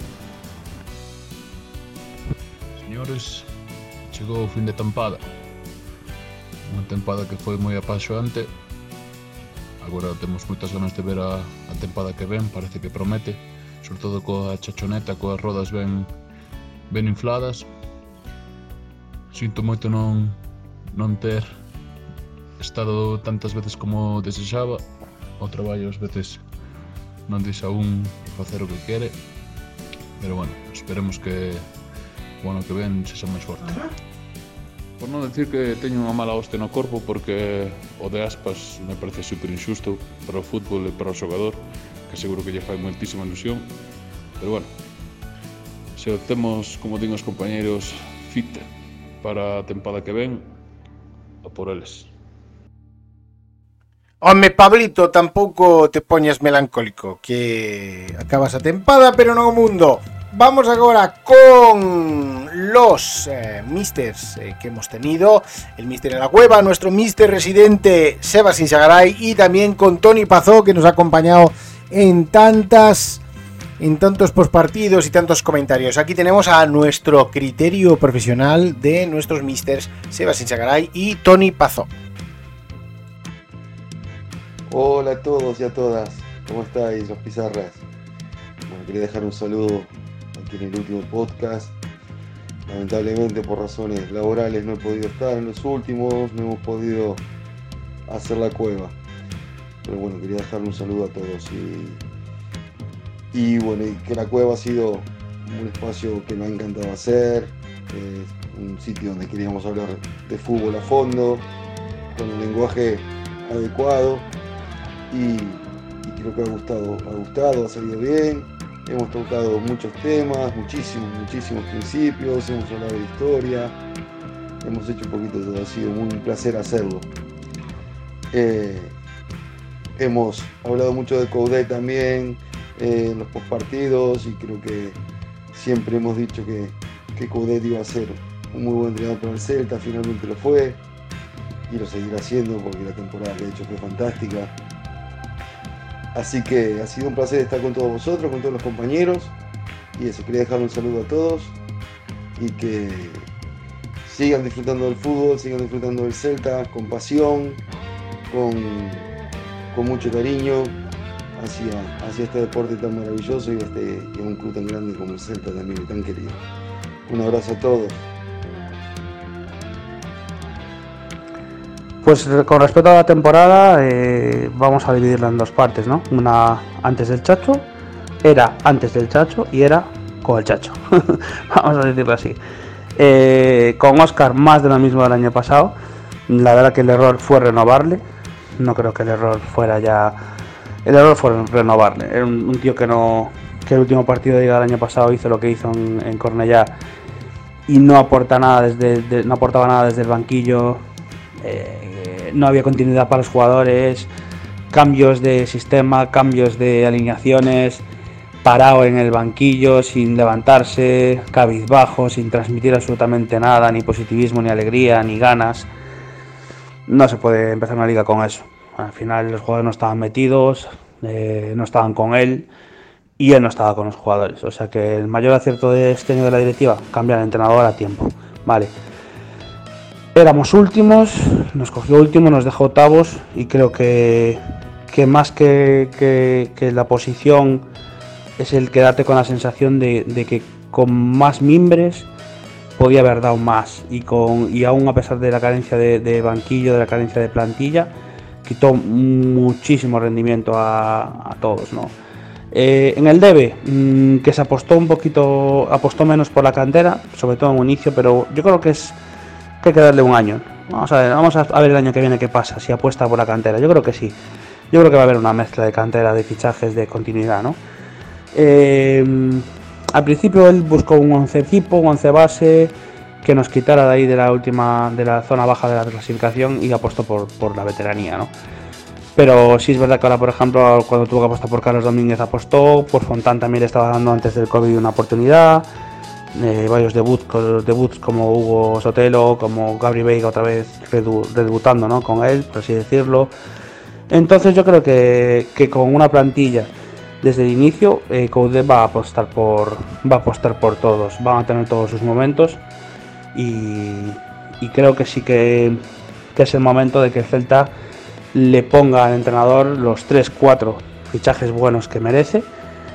Señores, chegou o fin de tempada. Unha tempada que foi moi apaixoante. Agora temos moitas ganas de ver a tempada que ven, parece que promete, sobre todo coa chachoneta, coas rodas ben infladas. Sinto moito non ter estado tantas veces como desexaba. O traballo ás veces non deixa un facer o que quere, pero bueno, esperemos que o ano que ven sexa máis forte. Por non decir que teño unha mala hoste no corpo, porque o de Aspas me parece super injusto para o fútbol e para o xogador, que seguro que lle fai moitísima ilusión. Pero bueno, se o temos, como din os compañeiros, fit para a tempada que ven, a por eles. Home, Pablito, tampouco te poñas melancólico, que acabas a tempada, pero non o mundo. Vamos agora con los misters que hemos tenido. El mister en la cueva, nuestro mister residente Sebas Insagaray, y también con Tony Pazó, que nos ha acompañado en tantos postpartidos y tantos comentarios. Aquí tenemos a nuestro criterio profesional de nuestros misters Sebas Insagaray y Tony Pazó. Hola a todos y a todas, ¿cómo estáis, los pizarras? Bueno, quería dejar un saludo aquí en el último podcast. Lamentablemente por razones laborales no he podido estar en los últimos, no hemos podido hacer la cueva. Pero bueno, quería dejar un saludo a todos y bueno, y que la cueva ha sido un espacio que me ha encantado hacer, un sitio donde queríamos hablar de fútbol a fondo, con un lenguaje adecuado. Y creo que ha gustado, ha salido bien. Hemos tocado muchos temas, muchísimos principios, hemos hablado de historia, hemos hecho un poquito de todo, ha sido un placer hacerlo. Hemos hablado mucho de Coudet también en los postpartidos, y creo que siempre hemos dicho que Coudet iba a ser un muy buen entrenador para el Celta, finalmente lo fue y lo seguirá haciendo porque la temporada que ha hecho fue fantástica. Así que ha sido un placer estar con todos vosotros, con todos los compañeros, y eso, quería dejar un saludo a todos y que sigan disfrutando del fútbol, sigan disfrutando del Celta con pasión, con mucho cariño hacia este deporte tan maravilloso y a un club tan grande como el Celta también, y tan querido. Un abrazo a todos. Pues con respecto a la temporada, vamos a dividirla en dos partes, ¿no? Una antes del Chacho, era antes del Chacho y era con el Chacho. Vamos a decirlo así. Con Óscar, más de lo mismo del año pasado. La verdad que el error fue renovarle. No creo que el error fuera ya... El error fue renovarle. Era un tío que el último partido de Liga del año pasado hizo lo que hizo en Cornellá y no aportaba nada desde el banquillo. No había continuidad para los jugadores, cambios de sistema, cambios de alineaciones, parado en el banquillo sin levantarse, cabizbajo, sin transmitir absolutamente nada, ni positivismo, ni alegría, ni ganas. No se puede empezar una liga con eso. Al final los jugadores no estaban metidos, no estaban con él y él no estaba con los jugadores. O sea que el mayor acierto de este año de la directiva, cambiar el entrenador a tiempo. Vale. Éramos últimos, nos cogió último, nos dejó octavos y creo que más que la posición es el quedarte con la sensación de que con más mimbres podía haber dado más y aún a pesar de la carencia de banquillo, de la carencia de plantilla, quitó muchísimo rendimiento a todos, ¿no? En el debe, que se apostó menos por la cantera, sobre todo en un inicio, pero yo creo que hay que darle un año. Vamos a ver el año que viene qué pasa, si apuesta por la cantera. Yo creo que sí. Yo creo que va a haber una mezcla de cantera, de fichajes, de continuidad, ¿no? Al principio él buscó un 11 tipo, un 11 base, que nos quitara de ahí de la zona baja de la clasificación y apostó por la veteranía, ¿no? Pero sí es verdad que ahora, por ejemplo, cuando tuvo que apostar por Carlos Domínguez apostó, por Fontán también le estaba dando antes del COVID una oportunidad. Varios debuts como Hugo Sotelo, como Gabri Veiga otra vez redebutando, ¿no? Con él, por así decirlo. Entonces yo creo que con una plantilla desde el inicio, Coudet va a apostar por todos, van a tener todos sus momentos y creo que sí que es el momento de que el Celta le ponga al entrenador los 3-4 fichajes buenos que merece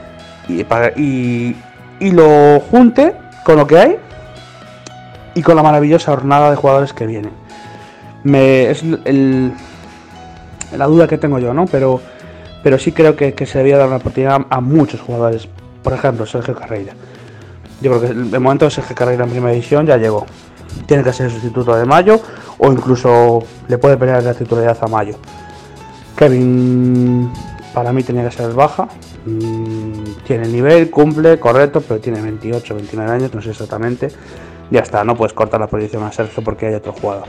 y lo junte con lo que hay y con la maravillosa jornada de jugadores que vienen. Es la duda que tengo yo, ¿no? Pero sí creo que se debía dar una oportunidad a muchos jugadores. Por ejemplo, Sergio Carreira. Yo creo que el momento de Sergio Carreira en primera división ya llegó. Tiene que ser el sustituto de Mayo o incluso le puede pelear la titularidad a Mayo. Kevin para mí tenía que ser baja. Tiene el nivel, cumple, correcto, pero tiene 28, 29 años, no sé exactamente. Ya está, no puedes cortar la posición a Sergio porque hay otro jugador.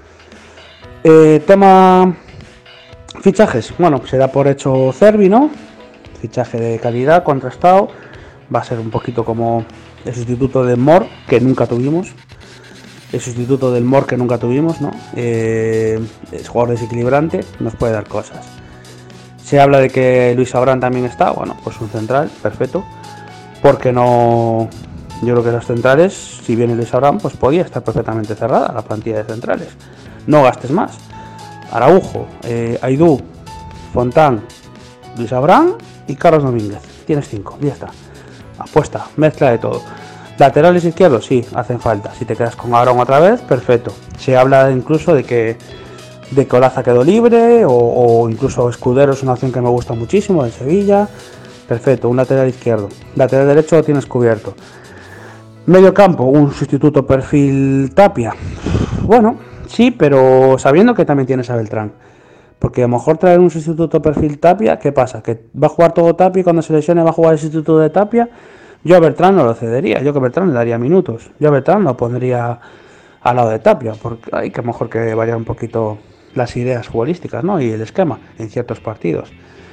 Tema fichajes. Bueno, se da por hecho Cervi, ¿no? Fichaje de calidad, contrastado. Va a ser un poquito como el sustituto de Mor, que nunca tuvimos. El sustituto del Mor que nunca tuvimos, ¿no? Es jugador desequilibrante, nos puede dar cosas. Se habla de que Luis Abrán también está, bueno, pues un central, perfecto. Porque no, yo creo que los centrales, si viene Luis Abrán, pues podía estar perfectamente cerrada la plantilla de centrales. No gastes más. Araujo, Aidú, Fontán, Luis Abrán y Carlos Domínguez. Tienes 5, ya está. Apuesta, mezcla de todo. Laterales izquierdos, sí, hacen falta. Si te quedas con Abraham otra vez, perfecto. Se habla incluso de que Olaza quedó libre o incluso Escudero es una opción que me gusta muchísimo, en Sevilla. Perfecto, un lateral izquierdo. Lateral derecho lo tienes cubierto. Medio campo, un sustituto perfil Tapia. Bueno, sí, pero sabiendo que también tienes a Beltrán. Porque a lo mejor traer un sustituto perfil Tapia, ¿qué pasa? ¿Que va a jugar todo Tapia y cuando se lesione va a jugar el sustituto de Tapia? Yo a Beltrán no lo cedería, yo que a Beltrán le daría minutos. Yo a Beltrán lo pondría al lado de Tapia, porque hay que mejor que variar un poquito las ideas futbolísticas, ¿no? Y el esquema en ciertos partidos.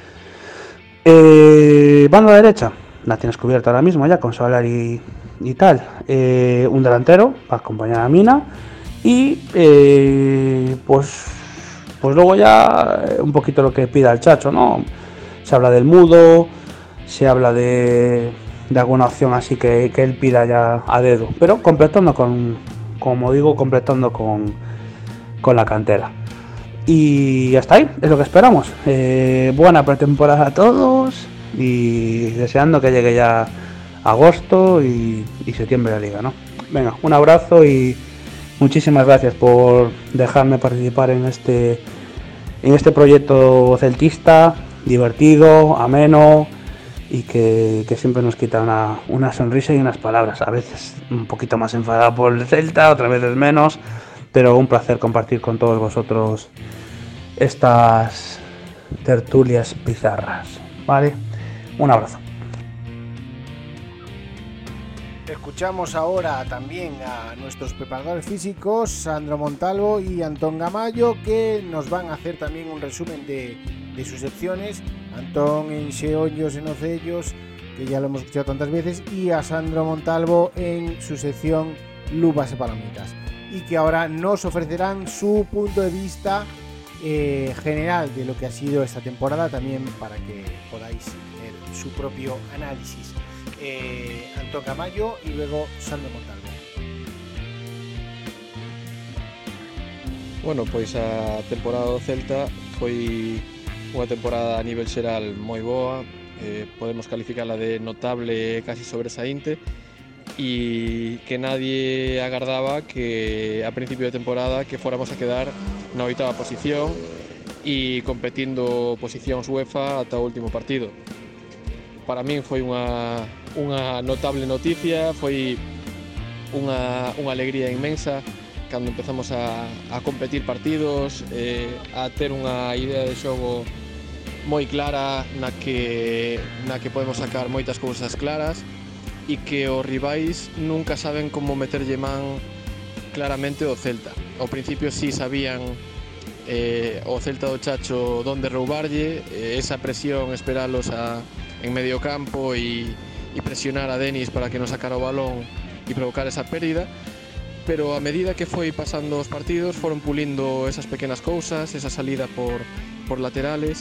Banda derecha, la tienes cubierta ahora mismo ya con Solar y tal. Un delantero para acompañar a Mina. Y pues luego ya un poquito lo que pida el Chacho, ¿no? Se habla del Mudo, se habla de alguna opción así que él pida ya a dedo, pero completando completando con la cantera. Y hasta ahí, es lo que esperamos. Buena pretemporada a todos y deseando que llegue ya agosto y septiembre la liga, ¿no? Venga, un abrazo y muchísimas gracias por dejarme participar en este proyecto celtista, divertido, ameno y que siempre nos quita una sonrisa y unas palabras, a veces un poquito más enfadado por el Celta, otras veces menos, pero un placer compartir con todos vosotros estas tertulias pizarras, ¿vale? Un abrazo. Escuchamos ahora también a nuestros preparadores físicos, Sandro Montalvo y Antón Gamayo, que nos van a hacer también un resumen de sus secciones. Antón en Xeollos, en Ocellos, que ya lo hemos escuchado tantas veces, y a Sandro Montalvo en su sección Luvas y Palomitas, y que ahora nos ofrecerán su punto de vista general de lo que ha sido esta temporada, también para que podáis tener su propio análisis. Antón Gamayo y luego Sandro Montalvo. Bueno, pois a temporada do Celta foi unha temporada a nivel xeral moi boa, podemos calificala de notable e casi sobresaínte, e que nadie agardaba que a principio de temporada que fóramos a quedar na 8ª posición e competindo posicións UEFA ata o último partido. Para min foi unha notable noticia, foi unha alegría inmensa cando empezamos a competir partidos, a ter unha idea de xogo moi clara na que podemos sacar moitas cousas claras e que os rivais nunca saben como meterlle man claramente o Celta. Ao principio sí sabían o Celta do Chacho donde roubarlle, esa presión, esperalos en medio campo e presionar a Denis para que non sacara o balón e provocar esa pérdida. Pero a medida que foi pasando os partidos foron pulindo esas pequenas cousas, esa salida por laterales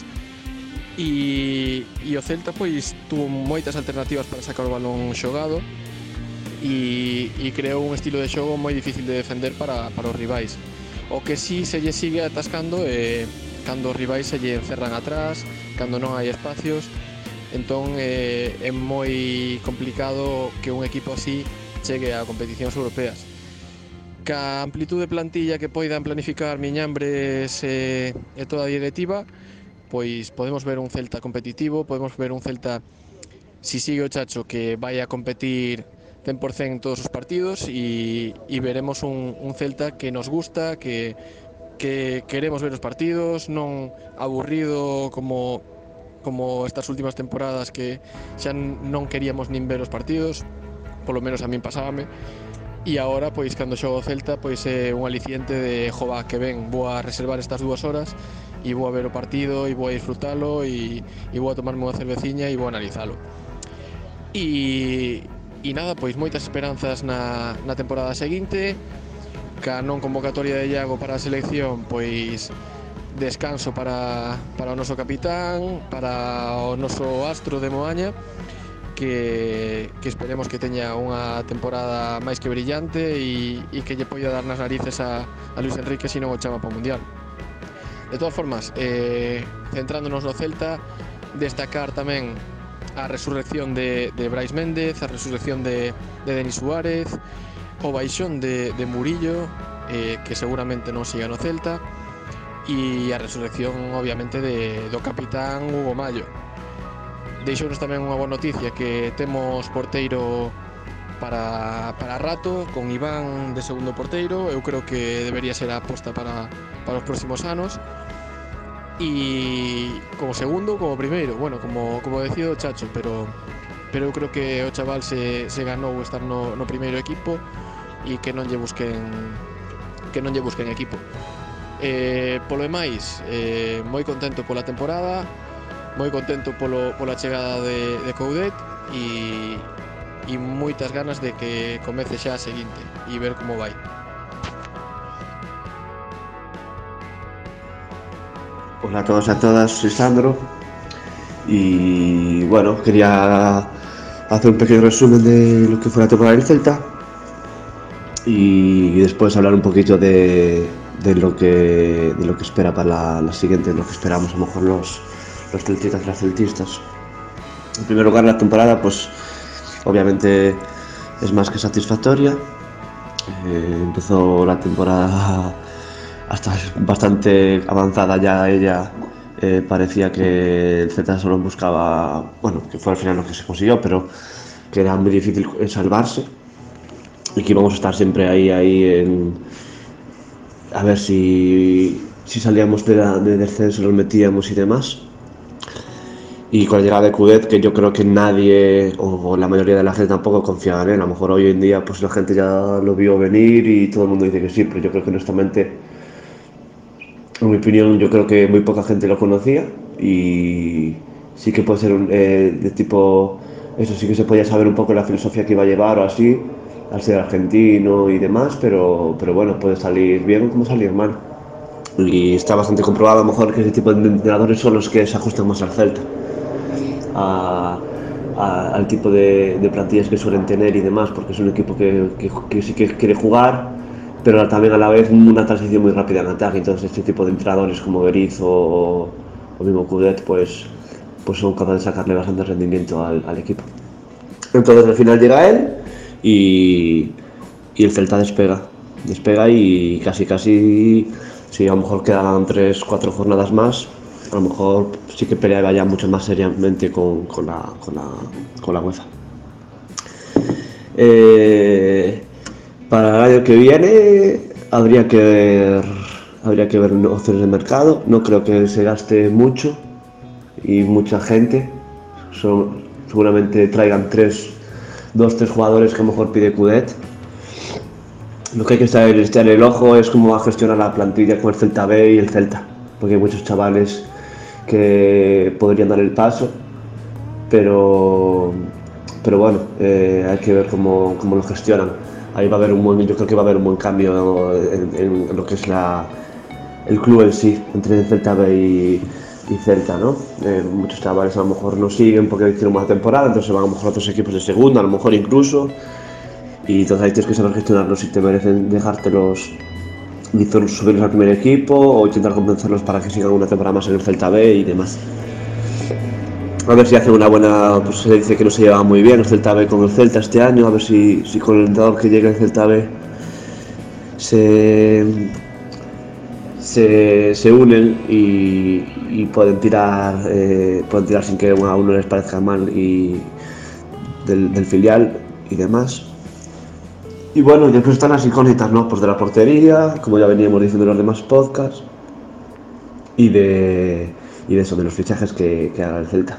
e o Celta pois tuvo moitas alternativas para sacar o balón xogado e creou un estilo de xogo moi difícil de defender para os rivais. O que sí se lle sigue atascando é cando os rivais se lle encerran atrás, cando non hai espacios, entón é moi complicado que un equipo así chegue a competicións europeas. Ca amplitude de plantilla que poidan planificar Miñambres e toda a directiva, pois podemos ver un Celta competitivo, podemos ver un Celta, si sigue o Chacho, que vai a competir 100% en todos os partidos e veremos un Celta que nos gusta, que queremos ver os partidos, non aburrido como estas últimas temporadas que xa non queríamos nin ver os partidos, polo menos a min pasábame. E agora, pois, cando xogo o Celta, pois é un aliciente de jova que ven, vou a reservar estas 2 horas e vou a ver o partido e vou a disfrutalo e vou a tomarme unha cerveciña e vou a analizalo. E nada, pois moitas esperanzas na temporada seguinte, ca non convocatoria de Iago para a selección, pois descanso para o noso capitán, para o noso astro de Moaña, que esperemos que teña unha temporada máis que brillante e que lle poida dar nas narices a Luis Enrique se non o chama para o Mundial. De todas formas, centrándonos no Celta, destacar tamén a resurrección de Brais Méndez, a resurrección de Denis Suárez, o baixón de Murillo, que seguramente non siga no Celta, e a resurrección obviamente do capitán Hugo Mallo. Deixounos tamén unha boa noticia, que temos porteiro para rato, con Iván de segundo porteiro. Eu creo que debería ser a aposta para os próximos anos. E como segundo, como primeiro, bueno, como decía o Chacho, pero eu creo que o chaval se ganou estar no primeiro equipo e que non lle busquen equipo. Polo demais, moi contento pola temporada, moi contento pola chegada de Coudet e moitas ganas de que comece xa a seguinte e ver como vai. Hola a todos y a todas, soy Sandro y bueno, quería hacer un pequeño resumen de lo que fue la temporada del Celta y después hablar un poquito de lo que espera para la siguiente, lo que esperamos a lo mejor los celtistas y las celtistas. En primer lugar, la temporada pues obviamente es más que satisfactoria. Empezó la temporada hasta bastante avanzada ya ella, parecía que el Celta solo buscaba, bueno, que fue al final lo que se consiguió, pero que era muy difícil salvarse y que íbamos a estar siempre ahí a ver si salíamos de descenso, los metíamos y demás. Y con la llegada de Coudet, que yo creo que nadie, o la mayoría de la gente tampoco confiaba en él. A lo mejor hoy en día pues la gente ya lo vio venir y todo el mundo dice que sí, pero yo creo que honestamente, en mi opinión, yo creo que muy poca gente lo conocía y sí que puede ser de tipo, eso sí que se podía saber un poco la filosofía que iba a llevar o así, al ser argentino y demás, pero bueno, puede salir bien como salir mal. Y está bastante comprobado a lo mejor que ese tipo de entrenadores son los que se ajustan más al Celta, al tipo de plantillas que suelen tener y demás, porque es un equipo que sí que quiere jugar, pero también a la vez una transición muy rápida en ataque. Entonces este tipo de entrenadores como Berizzo o mismo Coudet pues son capaces de sacarle bastante rendimiento al equipo. Entonces al final llega él y el Celta despega y casi si a lo mejor quedan 3-4 jornadas más, a lo mejor sí que peleaba ya mucho más seriamente con la UEFA. Para el año que viene habría que ver opciones de mercado. No creo que se gaste mucho y mucha gente. Seguramente traigan 2-3 jugadores que a lo mejor pide Coudet. Lo que hay que estar en el ojo es cómo va a gestionar la plantilla con el Celta B y el Celta, porque hay muchos chavales que podrían dar el paso, pero bueno, hay que ver cómo lo gestionan. Ahí va a haber yo creo que va a haber un buen cambio en lo que es el club en sí, entre el Celta B y Celta, ¿no? Muchos chavales a lo mejor no siguen porque hicieron una temporada, entonces van a lo mejor a otros equipos de segunda, a lo mejor incluso, y entonces ahí tienes que saber gestionarlos si te merecen dejártelos y subirlos al primer equipo o intentar convencerlos para que sigan una temporada más en el Celta B y demás. A ver si hacen una buena, pues se dice que no se lleva muy bien el Celta B con el Celta este año, a ver si con el entrenador que llegue al Celta B se unen y pueden tirar sin que a uno les parezca mal y del filial y demás. Y bueno, después están las incógnitas, ¿no? Pues de la portería, como ya veníamos diciendo en los demás podcasts, y de eso, de los fichajes que haga el Celta.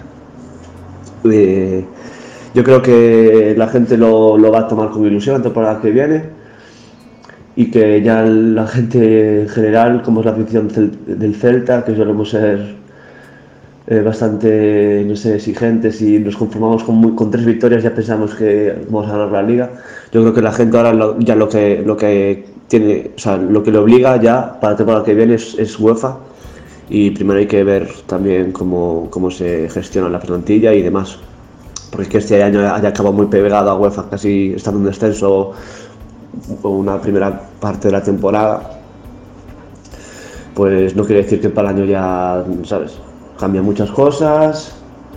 Yo creo que la gente lo va a tomar con ilusión la temporada que viene y que ya la gente en general, como es la afición del Celta, que solemos ser bastante, no sé, exigentes y nos conformamos con 3 victorias, ya pensamos que vamos a ganar la Liga. Yo creo que la gente ahora lo que tiene, o sea, lo que le obliga ya para la temporada que viene es UEFA, y primero hay que ver también cómo se gestiona la plantilla y demás, porque es que este año haya acabado muy pegado a UEFA, casi estando en descenso una primera parte de la temporada, pues no quiere decir que para el año ya, ¿sabes? Cambian muchas cosas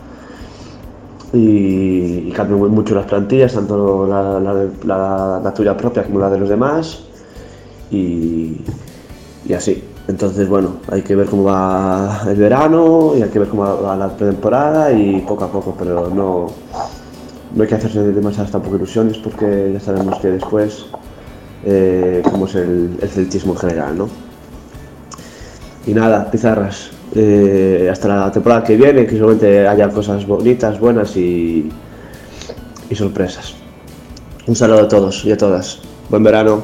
y cambian mucho las plantillas, tanto la tuya propia como la de los demás y así. Entonces, bueno, hay que ver cómo va el verano y hay que ver cómo va la pretemporada y poco a poco, pero no hay que hacerse demasiadas tampoco ilusiones porque ya sabemos que después cómo es el celtismo en general, ¿no? Y nada, pizarras. Hasta la temporada que viene, que seguramente haya cosas bonitas, buenas y sorpresas. Un saludo a todos y a todas. Buen verano.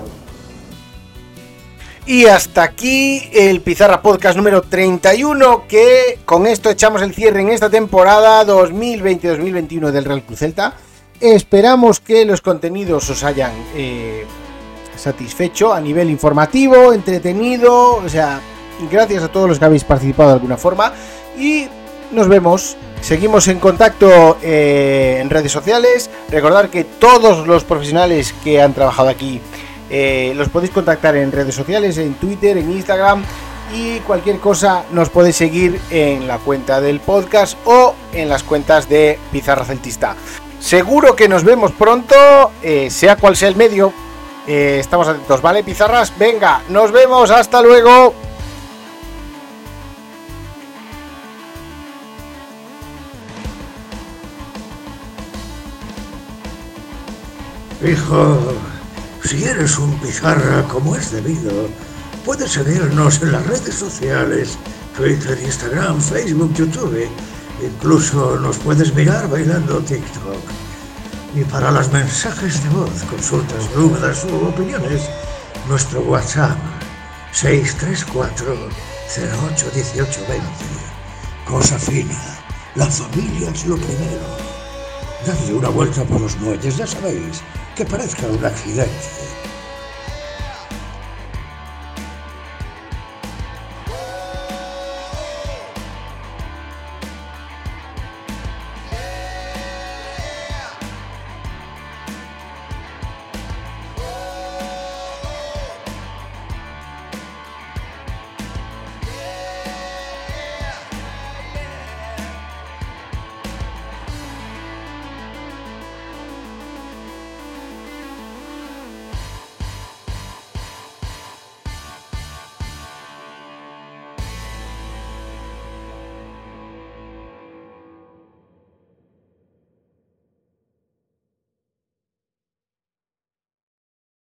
Y hasta aquí el Pizarra Podcast número 31, que con esto echamos el cierre en esta temporada 2020-2021 del Real Club Celta. Esperamos que los contenidos os hayan satisfecho a nivel informativo, entretenido, o sea, gracias a todos los que habéis participado de alguna forma y nos vemos, seguimos en contacto en redes sociales. Recordad que todos los profesionales que han trabajado aquí los podéis contactar en redes sociales, en Twitter, en Instagram, y cualquier cosa nos podéis seguir en la cuenta del podcast o en las cuentas de Pizarra Celtista. Seguro que nos vemos pronto, sea cual sea el medio. Estamos atentos, ¿vale, pizarras? Venga, nos vemos, hasta luego. Hijo, si eres un pizarra como es debido, puedes seguirnos en las redes sociales, Twitter, Instagram, Facebook, YouTube. Incluso nos puedes mirar bailando TikTok. Y para los mensajes de voz, consultas, dudas u opiniones, nuestro WhatsApp 634 08 18 20. Cosa fina, la familia es lo primero. Dadle una vuelta por los muelles, ya sabéis, que parezca un accidente.